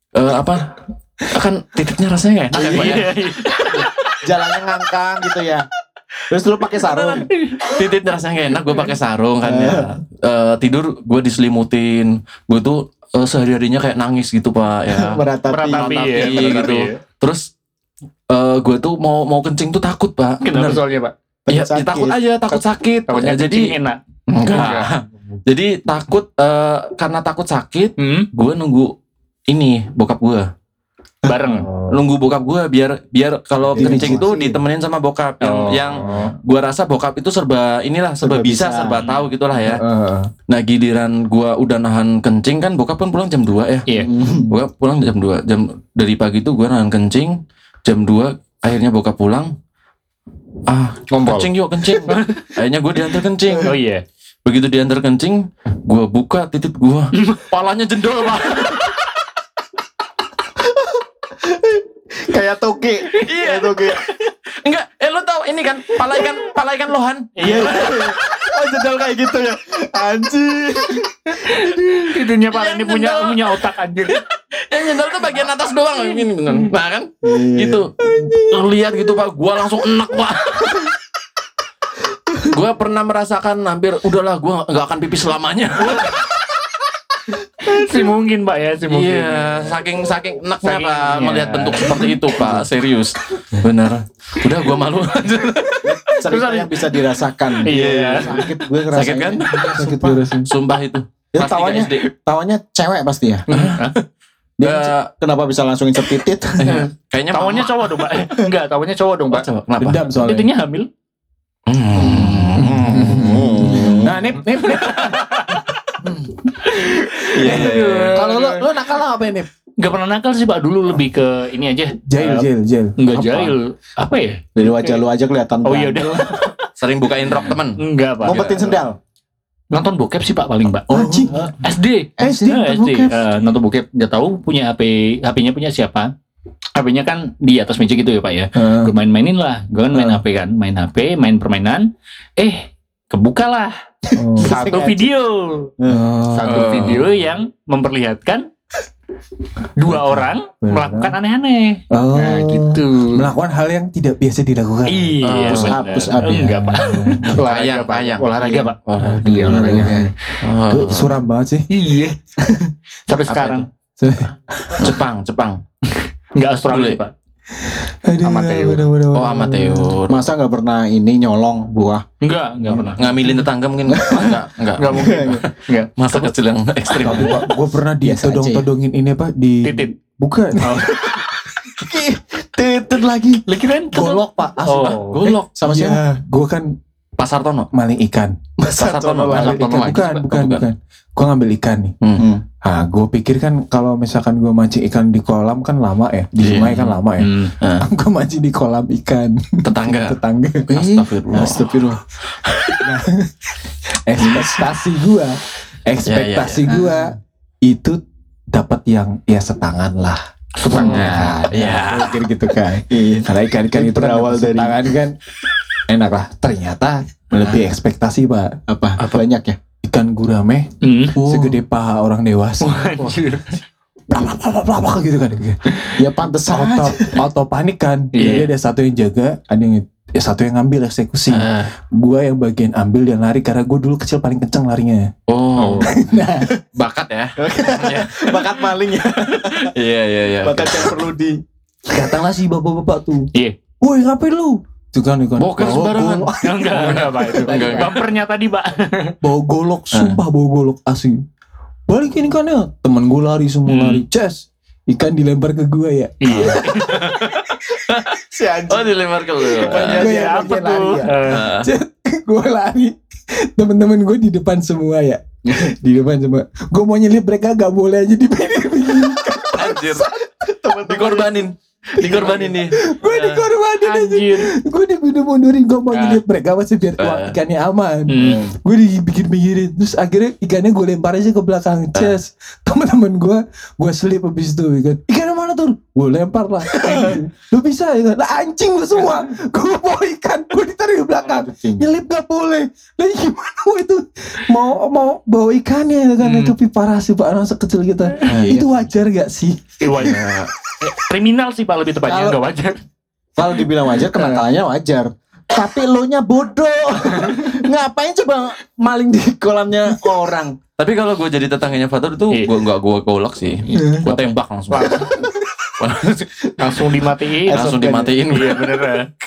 kan titiknya rasanya gak enak ya Pak ya. Jalannya ngangkang gitu ya. Terus lu pakai sarung. Titiknya rasanya gak enak, gue pakai sarung kan ya. Tidur gue diselimutin, gue tuh sehari-harinya kayak nangis gitu Pak ya. Meratapi. gitu. Terus gue tuh mau kencing tuh takut Pak. Kenapa Bener. soalnya Pak? Iya, Sakit. takut aja, takut sakit. Takutnya Ya, jadi jadi enak. enggak. Jadi takut karena takut sakit, gue nunggu ini bokap gue. bareng. Nunggu bokap gue biar kalau kencing tuh ditemenin sama bokap yang gue rasa bokap itu serba bisa serba tahu gitulah ya. Nah giliran gue udah nahan kencing kan bokap kan pulang jam 2 ya. Iya. Bokap pulang jam 2 dari pagi tuh gue nahan kencing jam 2 akhirnya bokap pulang Ngompol. kencing yuk kencing. Akhirnya gue diantar kencing. Oh iya. Begitu diantar kencing gue buka titik gue palanya jendol Pak. Kayak toge. Iya. Enggak, lo tau ini kan pala ikan lohan. Iya. Oh jendol kayak gitu ya. Anjir. Itunya Pak ini punya otak anjir. Yang jendol tuh bagian atas doang ini bener. Nah kan? Gitu. Lihat gitu Pak, gua langsung enak Pak. Gua pernah merasakan hampir udahlah gua enggak akan pipis selamanya. Si mungkin Pak ya, si mungkin. Iya, saking enaknya Pak melihat bentuk seperti itu Pak, serius. Benar. Udah gua malu. Cerita yang bisa dirasakan. Iya. Sakit gue ngerasain. Sakit kan? Sakit beresin. Sumpah itu. Itu Kelas 3 SD. tawanya cewek pasti ya. Dia kenapa bisa langsung insert titit? Kayaknya Tawannya cowok dong Pak. Enggak, tawannya cowok dong Pak. Coba, kenapa? Dendam soalnya. Itunya hamil. Nah, nip. Iya. Kalau lu nakal apa ya, Nip? Enggak pernah nakal sih Pak, dulu lebih ke ini aja. Jail. Enggak Apa? jahil. Apa ya? Dari wajah lu aja kelihatan. Oh iya udah. Sering bukain rok temen. Enggak Pak. Ngumpetin sendal. Nonton bokep sih Pak paling Pak. Anjing. SD. SD, SD. bokep. Nonton bokep. Nggak tahu punya HP-nya punya siapa. HP-nya kan di atas meja gitu ya Pak ya. Gue main-mainin lah. Gue kan main HP kan. Main HP, main permainan. Kebuka lah. Satu video. Satu video yang memperlihatkan dua orang melakukan aneh-aneh. Nah gitu. Melakukan hal yang tidak biasa dilakukan. Iya. push up ya. Enggak Pak. Olahraga Pak. Iya olahraga. Itu suram banget sih. Iya. Sampai sekarang. Jepang. Enggak Australia Pak. Aduh, Amateur. Oh amateur. Masa nggak pernah ini nyolong buah? Enggak pernah. Ngambilin tetangga mungkin enggak. Enggak mungkin. Enggak. Masa kecil yang ekstrim. Gue pernah Biasa ditodong-todongin ini apa di Titit. bukan. Titit lagi. Lagi kan Golok pak. Oh. Golok. Sama siapa? Ya, gue kan Pasar Tono. maling ikan. Pasar Tono lagi. Bukan. Gue ngambil ikan nih. Nah, gue pikir kan kalau misalkan gue mancing ikan di kolam kan lama ya, di sungai kan lama ya. Gue mancing di kolam ikan Tetangga. Astagfirullah. Nah, ekspektasi gue itu dapat yang ya setangan lah. Setengah. Iya. Pikir gitu kan. Karena ikan-ikan itu berawal kan dari- setangan kan enak lah. Ternyata melebihi ekspektasi Pak. Apa banyak ya? Ikan gurame segede paha orang dewasa. Anjir. Plak gitu kan. Ya pantes aja. Auto panik kan. Iya. Jadi ada satu yang jaga, ada yang satu yang ngambil eksekusi. Gua yang bagian ambil dan lari karena gue dulu kecil paling kenceng larinya. Oh. Bakat ya. Bakat maling ya. Iya. Bakat yang perlu di. Datanglah si bapak-bapak tuh. Iya. Woi ngapain lu? Itu kan Boker sembarangan. Enggak Pak itu. Enggak. Bumpernya tadi Pak. bawa golok, sumpah bawa golok asli. Balikin ikannya. Temen gue lari semua lari. Ces, ikan dilempar ke gue ya. Iya. Si anjing. Oh dilempar ke lu. Gue yang Apa bagian lari tuh? ya. Gue lari. Temen-temen gue di depan semua ya. Di depan semua. Gue mau nyelip mereka gak boleh aja di pinggir. Anjir. Dikorbanin nih. Gue dikorbanin aja. Anjir. Gue udah mundurin. Gue mau nyelip mereka masih biar ikannya aman. Gue dipikir-pikirin. Terus akhirnya ikannya gue lempar aja ke belakang. Ces. Teman-teman gue selip habis itu ikannya mana tuh? Gue lempar lah. Lu bisa ya kan? Lah anjing lu semua. Gue bawa ikan. Gue ditarik ke belakang. Nyelip gak boleh. Lah gimana itu? Mau bawa ikannya kan? Tapi parah sih Pak. Anak sekecil kita. Itu wajar gak sih? Wajar. Kriminal sih Pak lebih tepatnya, enggak wajar. Kalau dibilang wajar, kenakalannya wajar. Tapi lo nya bodoh. Ngapain coba maling di kolamnya orang? Tapi kalau gue jadi tetangganya Fatur itu gue golok sih. Gue tembak langsung. Langsung dimatiin. Langsung dimatiin. Iya bener.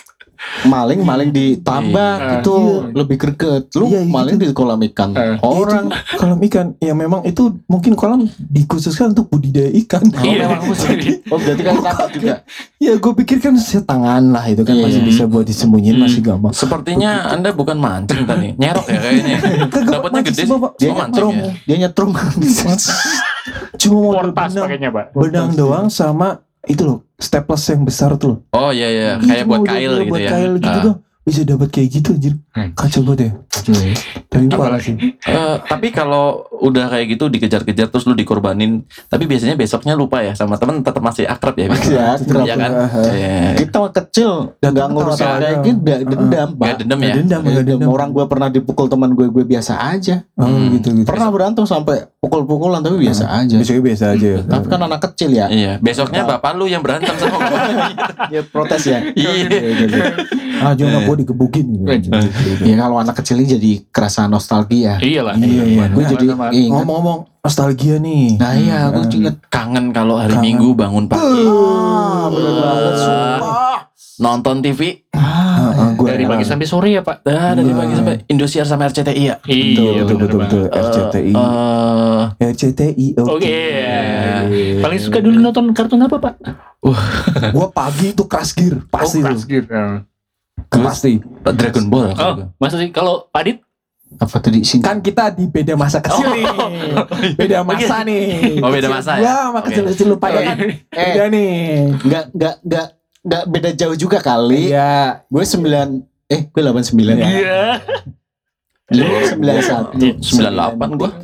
maling ditambak Iya. itu lebih greget. Lu Iya, maling di kolam ikan. Orang kolam ikan ya memang itu mungkin kolam dikhususkan untuk budidaya ikan. Iya. oh berarti kan takut juga. Ya gue pikir kan setangan lah itu kan Iya. masih bisa buat disembunyiin masih gampang. Sepertinya Anda bukan mancing tadi, nyerok ya kayaknya. Dapatnya mancing gede sih, sih. Bapak. Dia Oh, mancing nyetrum, ya. dia nyetrum. Cuma mau Portas pakainya, Pak. benang doang sama itu loh staples yang besar tuh loh. Oh iya iya, Itu kayak buat udah kail gitu buat ya. kail gitu Ah. tuh bisa dapat kayak gitu anjir. Kacau banget ya. Tapi parah sih. Tapi kalau udah kayak gitu dikejar-kejar terus lu dikorbanin, tapi biasanya besoknya lupa ya sama temen, tetap masih akrab ya. Ya, Iya kan? Iya. kita kecil Dan nggak temen ngurusin tawa-tawa kayak aja. gitu, dendam, Gak Pak. dendam ya. Dendam, Nggak nggak dendam. Orang gue pernah dipukul teman gue biasa aja. Oh, gitu. Pernah berantem sampai pukul-pukulan tapi biasa aja. Besoknya biasa aja. Tapi kan anak kecil ya. Iya, besoknya bapak lu yang berantem sama gua. Ya protes ya. Iya. Ah, jangan gue digebukin gitu. Ya kalau anak kecil ini jadi kerasa nostalgia. Iyalah. Iya. Gue jadi ingat. Ngomong-ngomong nostalgia nih. Nah iya, gue inget. Kangen kalau hari Minggu bangun pagi Bener banget, sumpah. nonton TV. Gua Dari pagi sampai sore ya, Pak. Dari pagi sampai Indosiar sama RCTI ya. Iya, betul. RCTI. RCTI. Oke. Paling suka dulu nonton kartun apa, Pak? Gua pagi itu Crash Gear pasti tuh. Gitu. Pasti. Dragon Ball. Oh, masa sih kalau Padit? Apa tadi sini? Kan kita di beda masa kecil nih. Beda masa nih. Oh, beda masa Gua ya? sama Oke. kecil-kecil lupa ya kan. Beda nih. Nggak beda jauh juga kali. Iya. Gue 89. Iya. Lu 91. 98 gua.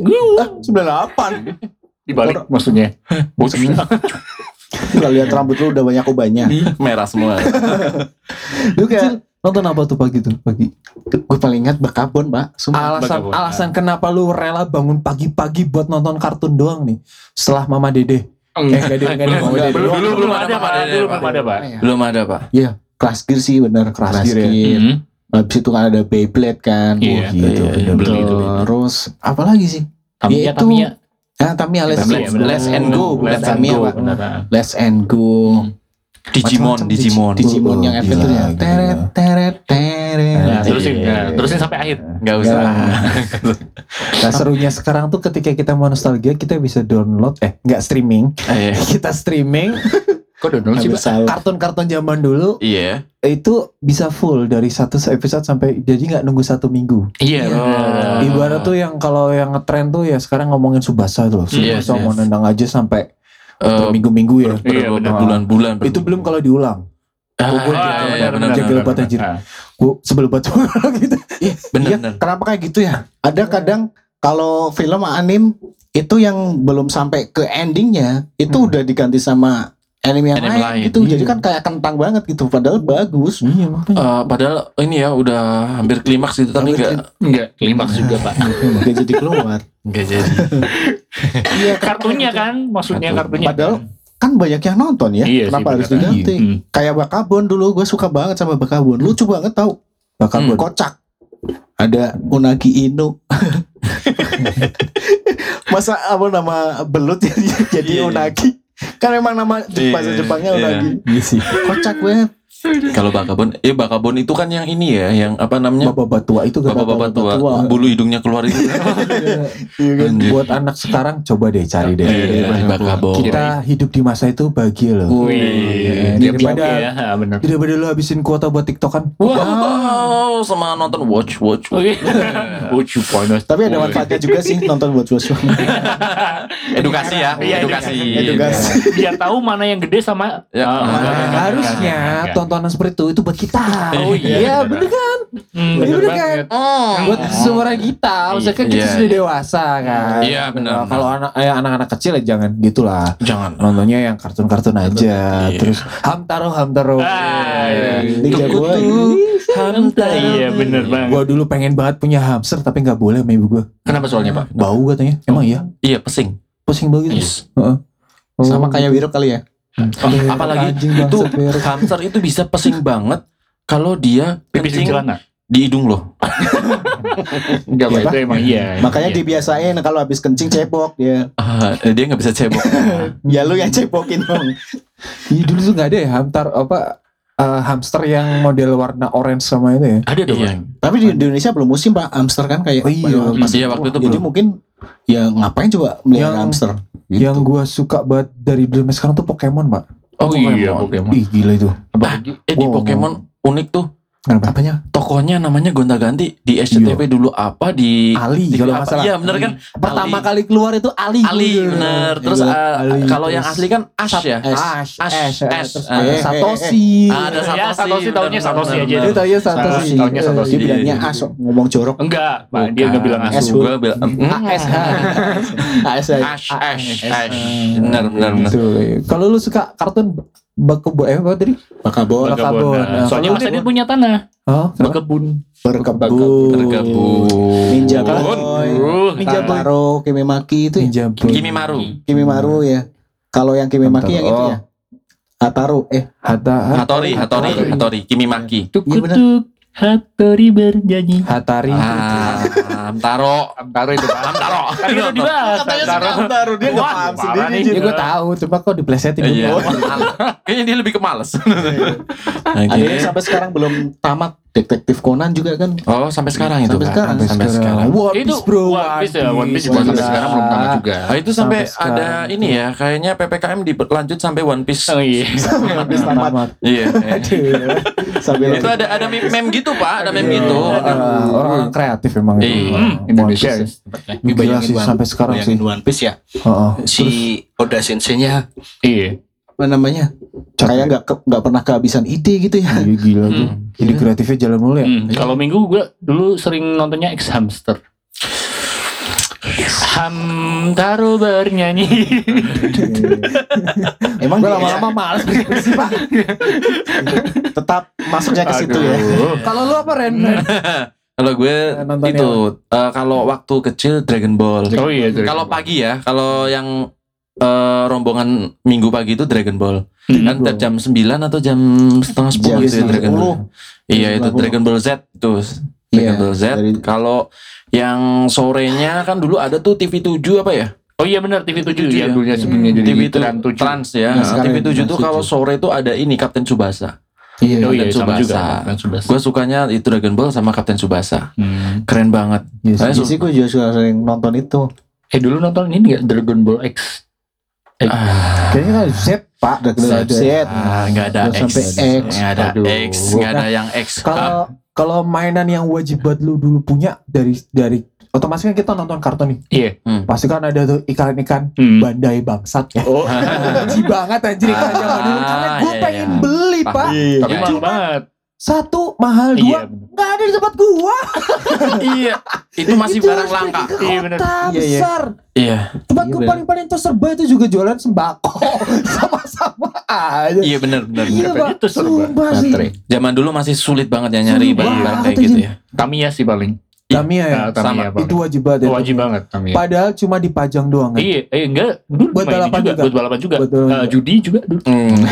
98. Dibalik maksudnya. Nggak lihat rambut lu udah banyak ubahnya. Merah semua. Lu kayak Nonton apa tuh pagi tuh? Pagi. gue paling ingat Bekabon, Pak. Sumpah. Alasan kenapa lu rela bangun pagi-pagi buat nonton kartun doang nih? Setelah Mama Dede. Enggak ada Mama Dede. Belum ada, Pak. Dulu belum ada, Pak. Belum ada, Pak. Iya, Crash Gear sih bener. Crash Gear ya. Mhm. Habis itu kan ada Beyblade kan. Iya, gitu, iya, bener. beli itu. Terus apa lagi sih? Tamiya, Itu- Tamiya. Tamiya Let's Tamiya, bener. Let's and Go, bukan Let's and Tamiya, Go, Pak. beneran. Let's and Go. Digimon. Digimon yang Oh, efek gila, tuh ya. gila. Teret teret teret. Nah, terusin sampai akhir. Enggak usah. Nah serunya sekarang tuh ketika kita mau nostalgia kita bisa download nggak streaming. Kita streaming Kok download sih, Pak? Salah. kartun-kartun zaman dulu Iya. itu bisa full dari satu episode sampai jadi nggak nunggu 1 minggu. Iya. bener. Ibarat tuh yang kalau yang ngetren tuh ya sekarang ngomongin Subasa tuh. Yes, Subasa mau yes. nendang aja sampai Eh, berminggu-minggu ya. Iya, bener. Berbulan-bulan. Itu belum kalau diulang. Ah, Gua iya, iya, benar. jaga lebat anjir. Gue sebel banget gitu. Bener, Iya, bener. kenapa kayak gitu ya? Ada kadang kalau film anim itu yang belum sampai ke endingnya itu udah diganti sama anime yang Anime lain, lain. gitu. Jadi Iya. kan kayak kentang banget gitu. Padahal bagus. Iya makanya. Padahal ini ya udah hampir klimaks gitu tapi Enggak, klimaks juga, Pak. Gak jadi keluar. enggak jadi. Iya, Kartunya kan, maksudnya kartunya. Padahal kan banyak yang nonton ya. Iya sih, Kenapa harus bener. diganti? Hmm. Kayak Bakabon dulu, gue suka banget sama Bakabon. Lucu banget tau. Bakabon. Kocak. Ada Unagi Inu. Masa apa nama belut jadi Iya, iya. Unagi? Kan emang nama Iya, bahasa Jepangnya iya. Unagi. Iya sih. Kocak banget. Kalau Bakabon itu kan yang ini ya, yang apa namanya? Bapak-bapak tua itu kan. Bapak-bapak tua, tua. bulu hidungnya keluar itu. Iya kan? Anjir. Buat anak sekarang coba deh cari deh. Iya, Bakabon. Kita hidup di masa itu bahagia loh. Wih, Daripada oke ya, benar. daripada lu habisin kuota buat TikTokan. Wow, sama nonton watch. Lucu panas. Tapi ada manfaatnya juga sih nonton buat suasana. Edukasi ya, Iya, edukasi. edukasi. Biar tahu mana yang gede sama Ya. Harusnya tontonan seperti itu buat kita. Oh iya, bener kan? bener Bener banget. Buat seumuran kita, maksudnya kan kita Iya. sudah dewasa kan. Iya, benar. Nah, kalau anak-anak kecil ya jangan gitulah. Jangan. Nontonnya yang kartun-kartun aja. Iya. Terus Hamtaro. Iya. Liga gua Iya, bener banget. Gua dulu pengen banget punya hamster tapi nggak boleh sama ibu gua. Kenapa soalnya, Pak? Bau katanya. Emang iya? Iya, pesing. Pusing banget gitu. Yes. Heeh. sama kayak Wiro kali ya. Apalagi Anjing itu bangsat, Wiro. hamster itu bisa pesing banget kalau dia Pipis di kencing celana. di hidung loh. Enggak, Pak, itu emang iya. Makanya Iya. dibiasain kalau habis kencing cebok dia. Dia nggak bisa cebok. Ya lu yang cebokin dong. Iya dulu tuh nggak ada ya hamster apa hamster yang model warna orange sama itu ya. Ada dong. Iya. Tapi di Indonesia belum musim Pak hamster kan kayak. Oh iya. pas Iya, waktu itu jadi belum. mungkin ya ngapain coba melihara Yang- hamster? Gitu. Yang gua suka banget dari dulu sekarang tuh Pokemon, Pak. Oh iya, Pokemon. Ih gila itu. Apalagi Di Wow. Pokemon unik tuh. Kenapa? apanya? Tokohnya namanya gonta-ganti di SCTV dulu apa di Ali, TV kalau apa. nggak salah. Iya bener kan? Pertama Ali. kali keluar itu Ali. Ali bener. Terus Ali, kalau yang terus asli kan Ash ya. Ash, Ash. terus Eh, Satoshi. Ada Ya, Satoshi taunya Satoshi aja. Dia taunya Satoshi. Taunya Satoshi. Dia bilangnya Iya. As ngomong jorok. enggak, Pak, dia enggak bilang Bukan. asu. Gua bilang AS. AS. Ash. Bener. Gitu. Kalau lu suka kartun Bakebo apa tadi? Bakabon. Bakabon. Nah, Soalnya kalau Mas lu- Adit punya tanah. Oh, Berkebun. Berkebun. Bergabung. Ninja Berkebun. Boy. Ninja Boy. Taro, Kimimaki itu. Ninja Boy. Kimimaru. Kimimaru ya. Kalau yang Kimimaki yang itu Oh. ya. Hataru. Hattori. Kimimaki. Iya, benar. Tuk-tuk, Hattori bernyanyi. Hatari. Hamtaro. Hamtaro itu Pak. Hamtaro. Kan udah dibahas. Hamtaro. Dia nggak Wah, paham parah sendiri nih. juga. Ya gue tahu, cuma kok diplesetin Iya. dulu. Kayaknya dia lebih ke males. Nah, Ada gini. yang sampai sekarang belum tamat. Detektif Conan juga kan. Oh, sampai sekarang itu. Sampai Pak? sekarang. Sampai sekarang. One Itu Piece bro. One Piece ya, One Piece juga Gila. sampai sekarang belum tamat juga. Ah, itu sampai Sampai ada sekarang. ini ya, kayaknya PPKM dilanjut sampai One Piece. Oh iya. One Piece tamat. Iya. Sambil Itu ada meme gitu, Pak, ada meme gitu. Orang-orang kreatif emang itu. Iya. One Indonesia. Piece. Ini Gila sih sampai sekarang sih. bayangin One Piece ya. Heeh. Si Oda Sensei-nya Iya. apa namanya? Kayak nggak pernah kehabisan ide gitu ya. Iya, gila tuh. Jadi kreatifnya jalan mulu ya. Kalau Minggu gue dulu sering nontonnya X Hamster. Hamtaro bernyanyi. Emang Gue dia lama-lama males bersih Pak. tetap masuknya ke situ ya. Kalau lu apa Ren? Kalau gue Nontonnya itu kalau waktu kecil Dragon Ball. Oh iya. Kalau pagi ya, kalau yang rombongan Minggu pagi itu Dragon Ball. Kan tiap jam 9 atau jam setengah 10 Jam gitu ya, Dragon 10. Ball. Iya itu 10. Dragon Ball Z itu. Dragon Iya, Ball Z. dari- Kalau yang sorenya kan dulu ada tuh TV7 apa ya? Oh iya benar TV7 TV7 yang ya. dulunya sebelumnya jadi TV Trans 7. Trans ya. Nah, sekarang TV7 tuh Trans kalau 7. sore tuh ada ini Kapten Tsubasa. Iya. Oh iya Kapten sama juga. Tsubasa. Kapten Tsubasa. Gue sukanya itu Dragon Ball sama Kapten Tsubasa. Keren banget. Saya Iya sih gue juga suka sering nonton itu. Dulu nonton ini nggak Dragon Ball X? Kayaknya kan Z Pak. Z. Nggak ada Terus X. sampai X. Nggak ada Aduh. X. Nggak ada yang X. Kalau mainan yang wajib buat lu dulu punya dari otomatis kan kita nonton kartun nih. Iya. Pasti kan ada tuh ikan-ikan Bandai bangsat ya. Oh. Benci banget anjir ikan zaman dulu karena gue iya, pengen iya. beli Pak. Tapi Iya. mahal banget. Satu mahal, Iya. dua nggak ada di tempat gua. Iya. Itu masih barang langka. Iya, bener. Kota Iya, iya. besar. Iya. Tempat Iya, gua bener. paling terserba itu juga jualan sembako. Sama-sama aja. Iya benar. Iya Pak, Itu serba. sumpah sih. Baterai. Zaman dulu masih sulit banget ya nyari Sulit barang-barang banget kayak gitu aja. ya. Tamiya sih paling. Tamiya ya. Tamiya paling. Itu wajib banget ya. Wajib banget Tamiya. Padahal cuma dipajang doang kan. Iya, enggak. Dulu Buat main balapan juga. Buat balapan juga. Buat balapan juga. Judi juga dulu.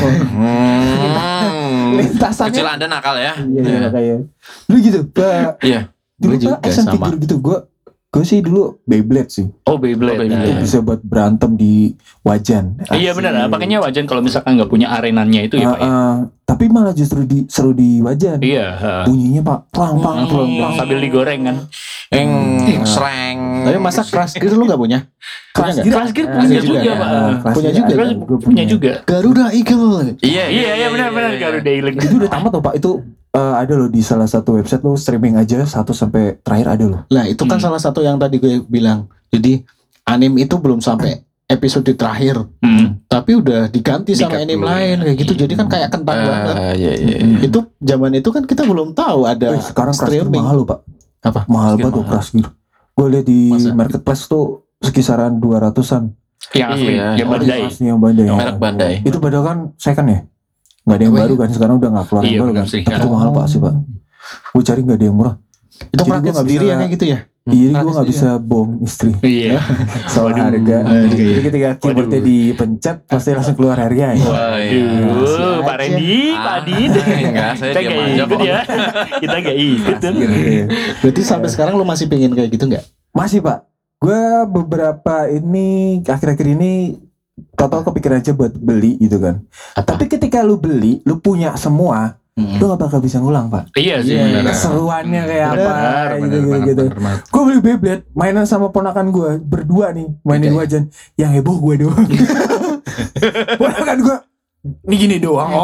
Lintasannya. Kecil Anda nakal ya. Iya kayak. Dulu gitu. Iya. Dulu Gue juga Pak action sama. figure gitu gue sih dulu Beyblade sih. Oh, Beyblade. Oh, Beyblade. Itu Nah, bisa buat berantem di wajan. Iya benar, makanya wajan kalau misalkan nggak punya arenanya itu ya Pak ya. Tapi malah justru seru di wajan. Iya. Bunyinya Pak, plang plang plang plang. Sambil digoreng kan. Sereng. Tapi masa Crash Gear lu nggak punya? Punya nggak? Crash Gear Punya punya juga juga ya? Pak. Punya juga Crash kan? Gua punya juga. Garuda Eagle. Iya. Iya benar-benar Garuda Eagle. Itu udah tamat loh Pak. Itu ada loh di salah satu website lo streaming aja 1 sampai terakhir ada loh. Lah itu kan salah satu yang tadi gue bilang. Jadi anime itu belum sampai episode terakhir, tapi udah diganti sama Dikat anime dulu, lain ya. kayak gitu. Jadi kan kayak kentang banget. Iya. Itu zaman itu kan kita belum tahu ada Sekarang Crash Gear streaming. mahal loh Pak. Apa? Mahal Crash Gear banget tuh mahal. Crash Gear. Gue liat di Masa? marketplace tuh sekisaran 200-an. Yang asli, Iya. yang Bandai. Asli yang Bandai. Merek Bandai. Itu padahal kan second ya. Nggak ada yang Oh, baru iya. kan. Sekarang udah nggak keluar Iya, yang baru benar kan. sih. Tapi itu mahal Pak sih Pak. Gue cari nggak ada yang murah. Itu Jadi praktis gua nggak sendiri bisa- ya kayak gitu ya. Iya, gue Praktis nggak dia. bisa bohong istri Iya. soal Waduh. harga. Jadi ketika keyboardnya Waduh. dipencet pasti langsung keluar harga ya. Aduh, Pak Randy, Pak Adit. Enggak, saya Kita diam nggak aja ikut kok. ya. Kita nggak ikut tuh. Berarti sampai sekarang lu masih pengen kayak gitu nggak? Masih Pak. Gue beberapa ini akhir-akhir ini Total kepikiran aja buat beli gitu kan. Tapi ketika lu beli, lu punya semua, lu gak bakal bisa ngulang, Pak. Iya sih, benar. Keseruannya kayak apa Benar, gitu. benar. Gue beli Beyblade, mainan sama ponakan gue berdua nih, mainin wajan. Yang heboh gue doang. Ponakan gue, ini gini doang.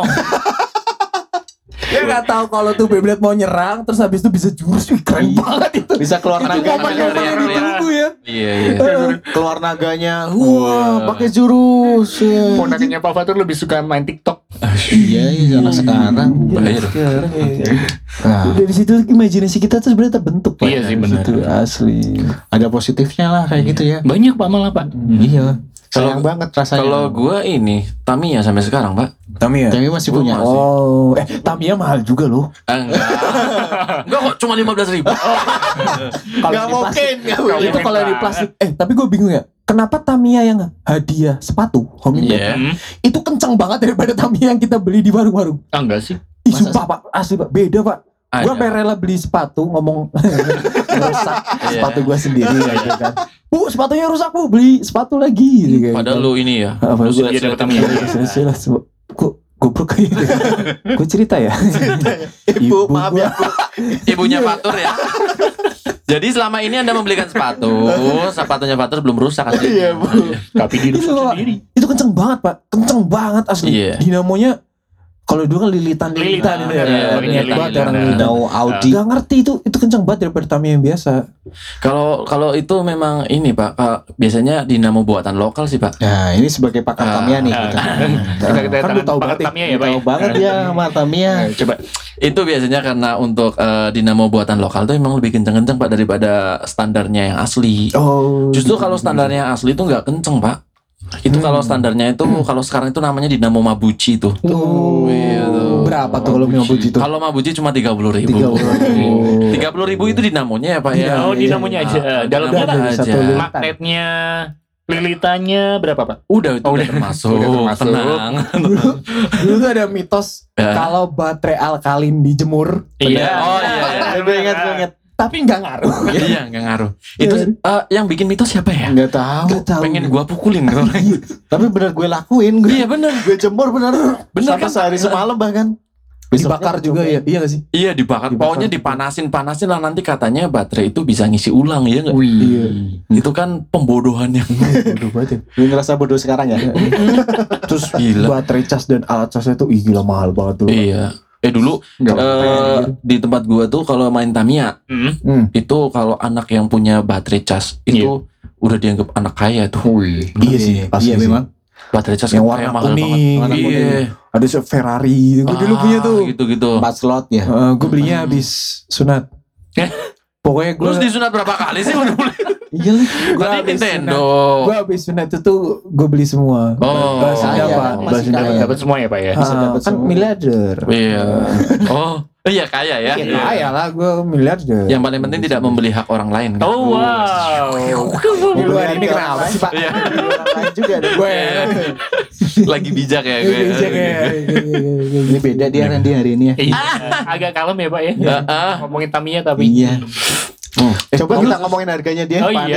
Dia gak tahu kalau tuh Beyblade mau nyerang, terus habis itu bisa jurus. Keren banget itu. Bisa keluar naganya. Momen-momen ditunggu ya. Iya. Keluar naganya. Wah, pakai jurus. Ponakannya Pak Fatur lebih suka main TikTok. Iya, anak sekarang. Bahaya. Dari situ imajinasi kita tuh sebenarnya terbentuk, Pak. Iya sih, benar. Itu asli. Ada positifnya lah kayak gitu ya. Banyak Pak malah Pak. Iya. Sayang banget rasanya. Kalau gua ini Tamiya sampai sekarang, Pak. Tamiya. Tamiya masih punya. Oh, Tamiya mahal juga loh. Enggak kok, cuma 15.000. Gak mungkin. Itu kalau di plastik. Tapi gue bingung ya. Kenapa Tamiya yang hadiah sepatu homemade itu kencang banget daripada Tamiya yang kita beli di warung-warung? Enggak sih. Ih, sumpah Pak, asli Pak, beda Pak. Gue sampai rela beli sepatu, ngomong rusak sepatu gue sendiri gitu kan. Bu, sepatunya rusak Bu, beli sepatu lagi gitu kan. Padahal lu ini ya. Apa Lu gue sudah dapat Tamiya. jelas kok goblok kayak gitu. Gue cerita ya. Ibu, maaf ya. Ibunya Fatur ya. Jadi selama ini Anda membelikan sepatunya Fatur belum rusak kan? Iya, Bu. Tapi dirusak sendiri. Itu kenceng banget Pak, kenceng banget asli. Iya. Dinamonya kalau dulu kan lilitan itu ya. Lilitan. Dinamo Audi. Gak ngerti itu kenceng banget daripada Tamiya yang biasa. Kalau itu memang ini Pak, biasanya dinamo buatan lokal sih Pak. Nah, ini sebagai pakar Tamiya nih. Kita Kan lu tahu banget ya. Tamiya ya Pak. Tahu banget ya sama Tamiya. Coba. Itu biasanya karena untuk dinamo buatan lokal tuh emang lebih kenceng-kenceng Pak daripada standarnya yang asli. Oh. Justru kalau standarnya yang asli itu nggak kenceng Pak. Itu kalau standarnya itu kalau sekarang itu namanya dinamo Mabuchi tuh. Berapa tuh kalau Mabuchi itu? Kalau Mabuchi cuma 30.000. 30.000 itu dinamonya ya Pak ya. Oh, dinamonya aja. Dalamnya aja. magnetnya, lilitannya berapa Pak? Udah termasuk. Tenang. Dulu tuh ada mitos kalau baterai alkalin dijemur. Iya. Oh iya. Gue ingat. Tapi nggak ngaruh. Iya nggak ngaruh. Itu yang bikin mitos siapa ya? Nggak tahu. Pengen gua pukulin kan. Tapi benar gue lakuin. Iya benar. Gue jemur benar. Bener Sampai kan? sehari semalam bahkan. Dibakar juga ya? Iya gak sih? Iya dibakar. Pokoknya dipanasin lah nanti katanya baterai itu bisa ngisi ulang ya nggak? Iya. Itu kan pembodohan yang Bodoh banget ya. Gue ngerasa bodoh sekarang ya. Terus Gila. baterai cas dan alat casnya tuh gila mahal banget tuh. Iya. Dulu di tempat gua tuh kalau main Tamiya itu kalau anak yang punya baterai cas itu udah dianggap anak kaya tuh. Iya sih. Iya memang. Baterai cas Yang kayak warna mahal kuning. banget. Iya. Ada Ferrari. Gue dulu punya tuh. Gitu-gitu. 4 slot ya. Gue belinya habis sunat. Pokoknya gue Terus disunat berapa kali sih udah beli? iya lah. Gue Berarti habis Nintendo. Gue habis sunat itu tuh gue beli semua. Oh, Bahasa kaya, Pak. masih Bahasa kaya. Jawa. Dapat semua ya Pak ya? Bisa dapat Kan semua. miliarder. Iya. Oh, iya kaya ya. Ya kaya lah gue miliarder. Yang paling penting tidak membeli hak orang lain. Kan? Oh wow. Di luar ini kenapa sih Pak? Iya. Orang lain juga ada. Gue Lagi bijak ya gue. Ini beda dia Randy hari ini ya. Iya. Agak kalem ya Pak ya. Ngomongin Tamiya tapi. Iya. Coba kita ngomongin harganya dia. Oh iya.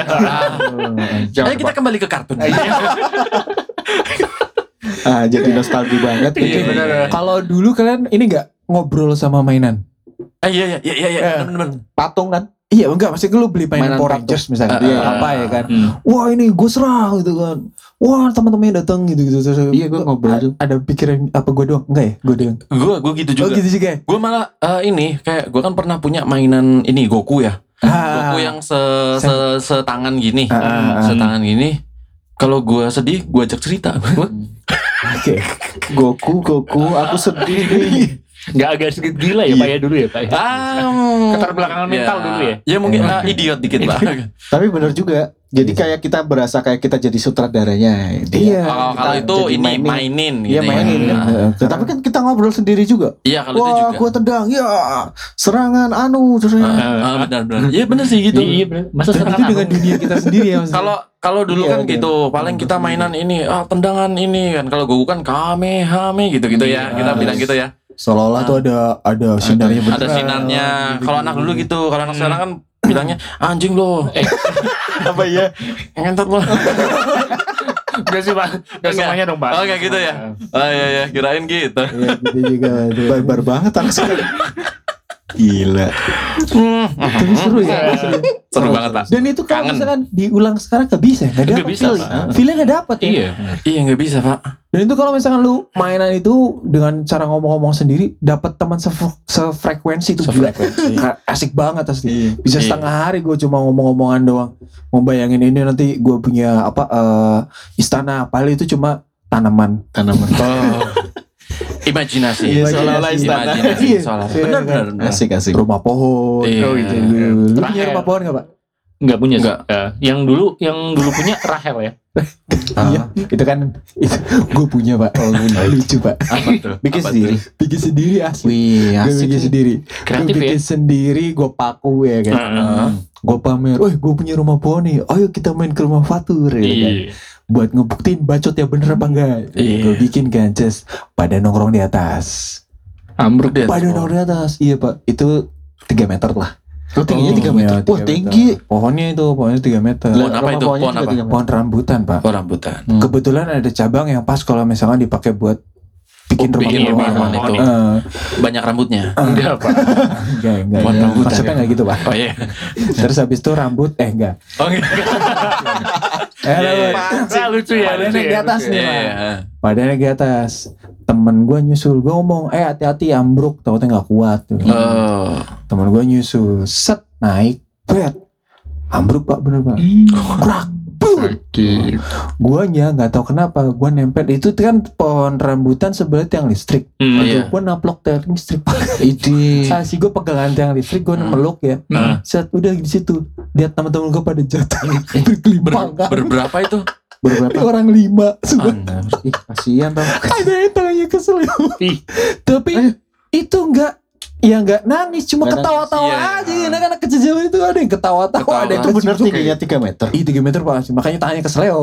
Ayo kita kembali ke kartun. Jadi nostalgia banget. Iya benar. Kalau dulu kalian ini nggak ngobrol sama mainan? Iya. Benar. Patung kan? Iya enggak, pasti lu beli mainan Mainan Power patung. Rangers misalnya. Iya. Apa ya kan? Wah ini gue serang gitu kan. Wah teman-temannya datang gitu. Terus Iya, gue ngobrol tuh. Ada pikiran apa gue doang? Enggak ya? Gue doang. Gue gitu Oh juga. gitu juga ya? Gue malah ini kayak gue kan pernah punya mainan ini Goku ya. Goku yang setangan gini. Setangan gini. Kalau gue sedih, gue ajak cerita. Oke. Goku, aku sedih nih. Nggak agak sedikit gila ya Pak ya dulu ya Pak ya? Keterbelakangan mental dulu ya? Ya mungkin idiot dikit Pak. Tapi benar juga. Jadi kayak kita berasa kayak kita jadi sutradaranya. Iya. Kalau itu ini mainin Iya gitu mainin ya. kan. Tapi kan kita ngobrol sendiri juga. Iya kalau itu Wah, juga. gua tendang. Ya, serangan terus Benar. Iya benar sih gitu. Iya bener. Masa Dan serangan itu dengan dunia kita sendiri ya. Kalau dulu Iya, kan iya. gitu, paling kita mainan ini, tendangan ini kan. Kalau Goku kan kamehame gitu-gitu ya. Kita bilang gitu ya. Seolah-olah tuh ada sinarnya beneran. Ada sinarnya. Kalau anak dulu gitu, kalau anak sekarang kan bilangnya anjing lo. apa ya? Ngentot lo. Enggak sih Pak, enggak semuanya dong Pak. Oh kayak gitu ya. Oh iya kirain gitu. Iya gitu juga. Barbar banget anak sekarang. Gila. Tapi seru ya. Seru banget Pak. Dan itu kalau Kangen. misalkan diulang sekarang gak bisa, gak Nggak dapet bisa, feeling. Pak. Feelnya gak dapet ya. Iya. Iya nggak bisa Pak. Dan itu kalau misalkan lu mainan itu dengan cara ngomong-ngomong sendiri, dapat teman sefrekuensi itu gila. Asik banget asli. Bisa Iya. setengah hari gue cuma ngomong-ngomongan doang. Mau bayangin ini nanti gue punya istana, padahal itu cuma tanaman. Oh. Imajinasi. Iya, seolah-olah istana. Imajinasi. Iya. Seolah-olah. Benar. Asik. Rumah pohon. Iya. Gitu. Lu punya Terakhir. rumah pohon gak Pak? Enggak punya sih. Nggak. Yang dulu punya Rahel ya. Iya. Itu kan gue punya Pak. Lucu Pak. Apa tuh? Bikin Apa sendiri. Bikin sendiri asli. Wih, Gue asik. bikin sendiri. Kreatif Gue bikin ya. sendiri, gue paku ya kan. Gue pamer, gue punya rumah pohon nih. Ayo kita main ke rumah Fatur ya kan. Iya. Buat ngebuktiin bacot ya bener apa enggak. Iya. Gue bikin kan, just pada nongkrong di atas. Ambruk dia. Pada nongkrong di atas. Iya Pak, itu 3 meter lah. Oh, tingginya 3 meter. Iya, Wah, 3 tinggi. meter. Pohonnya 3 meter. Pohon apa Rumah itu? pohonnya Pohon juga apa? 3 meter. Pohon rambutan Pak. Oh rambutan. Kebetulan ada cabang yang pas kalau misalkan dipakai buat bikin rumah bikin pohon. rumah itu. Banyak rambutnya. Enggak Pak. Enggak. Pohon rambutan, Maksudnya ya? enggak gitu Pak. Oh iya. Terus habis itu rambut, enggak. Oh iya. Ah, lucu ya. Badannya di atas nih Pak. Iya. Badannya di atas. Temen gue nyusul, gue ngomong, hati-hati ambruk, takutnya nggak kuat. Oh. Temen gue nyusul, set naik, bet, ambruk Pak, bener Pak. Krak, guanya nggak tahu kenapa, gue nempel itu kan pohon rambutan sebelah tiang listrik. Iya. Gue naplok tiang listrik Pak. Ini Sih gue pegangan tiang listrik, gue meluk ya. Set udah di situ, lihat teman-teman gue pada jatuh, berkelimpang kan. Berberapa itu? berberapa? Orang 5 semua. Ih, kasihan tau. Ada yang tangannya keselio. Ih. Tapi itu enggak, ya enggak nangis, cuma Nggak ketawa-tawa nangis, iya. aja. Anak-anak kecil zaman itu ada yang ketawa-tawa, ada yang Itu bener kecil. tingginya 3 meter. Ih 3 meter Pak, makanya tangannya keselio.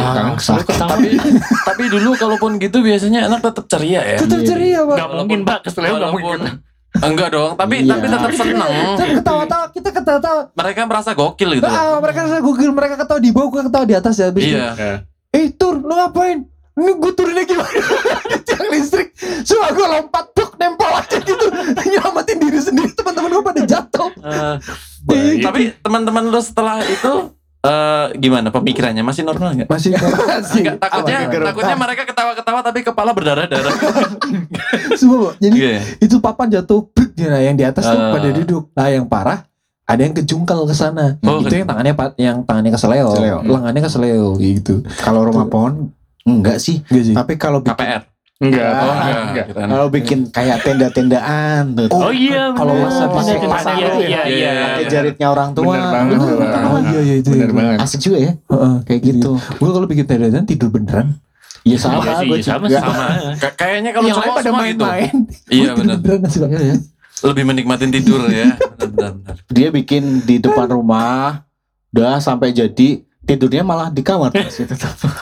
Tapi dulu kalaupun gitu biasanya anak tetap ceria ya. Tetap ceria Pak. Enggak mungkin Pak, keselio enggak mungkin. Enggak dong, tapi Iya. tetap seneng. Tapi ketawa-tawa, kita ketawa-tawa. Mereka merasa gokil gitu. Mereka rasa Google, mereka ketawa di bawah, gue ketawa di atas ya. Habis itu, Iya. Tur, lu ngapain? Ini gue turunnya gimana? Di tiang listrik. Semua gue lompat, tuk, nempel aja gitu. Nyelamatin diri sendiri, teman-teman gue pada jatuh. Tapi teman-teman lu setelah itu gimana pemikirannya? Masih normal nggak? Masih Enggak, takutnya mereka ketawa-ketawa tapi kepala berdarah-darah. semua. Jadi Iya. itu papan jatuh, bruk, ya, yang di atas tuh Ah. pada duduk. Nah yang parah ada yang kejungkal ke sana. Oh, Itu yang tangannya keseleo, Keseleo. lengannya keseleo gitu. Kalau rumah pohon enggak sih. Enggak sih. Tapi kalau bikin KPR. Enggak. Oh, Enggak. kirain. kalau bikin kayak tenda-tendaan tuh. Oh iya. Kalau bener. masa pakai Iya, pasang iya, tuh ya. iya, iya. Pakai jaritnya orang tua. Bener banget. Oh iya itu. Bener banget. Asik juga ya. Heeh, Kayak gitu. Gue kalau bikin tenda tidur beneran. Iya Iya sama sih, gue sama juga. sama. Kayaknya kalau Yang lain cowok pada semua gitu. main-main. Iya Gua tidur benar. beneran asli banget. Iya. Lebih menikmatin tidur ya. Benar. Dia bikin di depan rumah, udah sampai jadi tidurnya malah di kamar terus itu.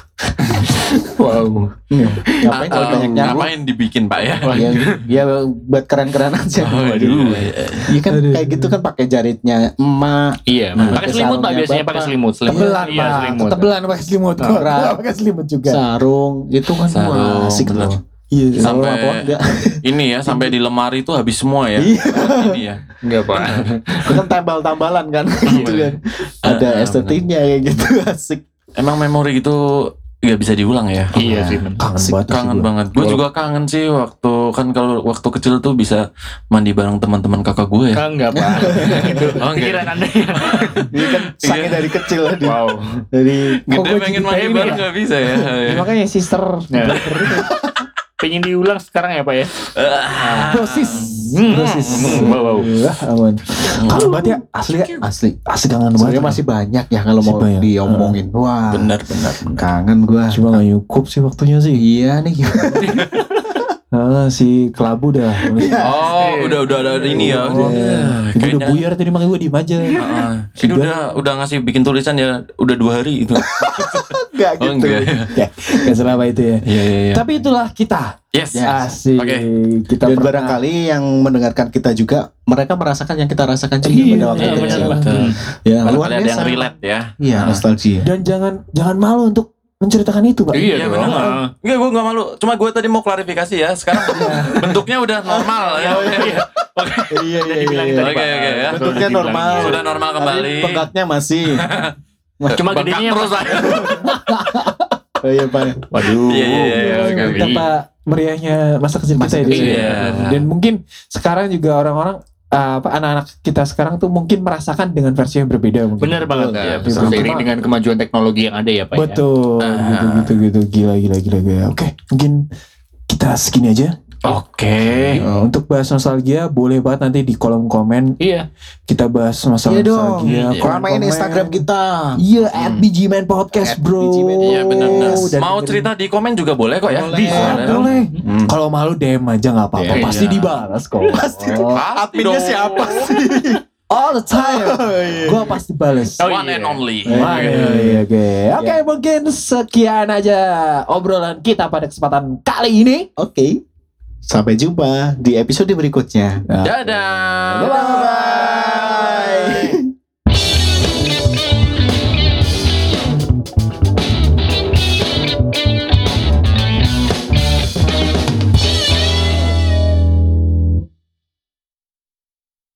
Wow. Ngapain kalau banyak nyamuk? Ngapain dibikin Pak ya? Ya buat keren-keren aja. Waduh. Iya kan kayak gitu kan pakai jaritnya emak. Iya, Nah, pakai selimut Pak, sarungnya biasanya pakai Bapak. selimut. Tebelan Iya, Pak. selimut. Tebelan pakai selimut. Berat. Gua pakai selimut juga. Sarung itu kan Sarung, wah, asik bener. loh. Iya. Kalau Sampai rumah pohon enggak. ini ya, sampai di lemari itu habis semua ya. Iya. Ini ya. Enggak Pak. Itu kan tambal-tambalan kan gitu kan. Ada estetiknya kayak gitu asik. Emang memori itu nggak bisa diulang ya. Iya sih. bener. Kangen Asik, banget. Kangen banget. Gue juga kangen sih waktu kan kalau waktu kecil tuh bisa mandi bareng teman-teman kakak gue ya. Enggak Pak. Itu Oh, enggak. pikiran Anda ya. Ini kan sakit dari kecil di, Wow. dari Gede gua pengen jadi mandi kayak bareng ini nggak bisa ya. Ya, makanya sister. Ya. Pengen diulang sekarang ya Pak ya. Dosis. Dosis. Wow. Aman. Kangen banget ya. Asli ya. asli. Asli kangen Sebenarnya banget. masih banyak ya kalau mau Masih banyak. diomongin. Wah, Benar. kangen gua. Cuma gak cukup sih waktunya sih. Iya nih. Si kelabu dah. Oh, udah ada ini ya. Ibu udah Kayaknya. buyar tadi makanya gue diem aja. Ini udah ngasih bikin tulisan ya udah 2 hari itu. Enggak Oh gitu. enggak ya. Gak selama itu ya. Iya. Tapi itulah kita. Yes. Asik. Oke. Kita Dan pernah- barangkali yang mendengarkan kita juga mereka merasakan yang kita rasakan juga Iya, pada waktu iya, kecil. benar. Betul. Ya, luar Barangkali ada yang biasa. relate ya. Iya, nostalgia. Dan jangan malu untuk menceritakan itu, Pak. Iya dong. benar. Enggak, gue nggak malu. Cuma gue tadi mau klarifikasi ya. Sekarang bentuknya udah normal ya. Iya. Oke ya. Bentuknya normal. Sudah normal kembali. Tapi Bengkaknya masih. Cuma Bengkak gedenya terus lah. Oh iya, Pak. Waduh. Iya. Betapa meriahnya masa kecil kita itu. Iya. Dan mungkin sekarang juga orang-orang anak-anak kita sekarang tuh mungkin merasakan dengan versi yang berbeda mungkin. Bener banget. Iya, Ya, seiring dengan kemajuan teknologi yang ada ya Pak. Betul. Gitu. Gila. Oke, mungkin kita segini aja. Oke. Untuk bahas nostalgia boleh banget nanti di kolom komen Iya. kita bahas masalah Iya dong. nostalgia. Ramein Instagram kita. Iya, @BGMan Podcast, bro. @BGMan. Iya benar. Dan Mau dengerin- cerita di komen juga boleh kok ya. Boleh. Bisa. Boleh. Kalau malu DM aja nggak apa-apa. Iya. Pasti dibalas kok. Pasti. Adminnya dong. siapa sih? All the time. Gua pasti balas. Oh, One iya. and only. Iya, Oke, mungkin sekian aja obrolan kita pada kesempatan kali ini. Oke. Sampai jumpa di episode berikutnya. Dadah. Bye-bye.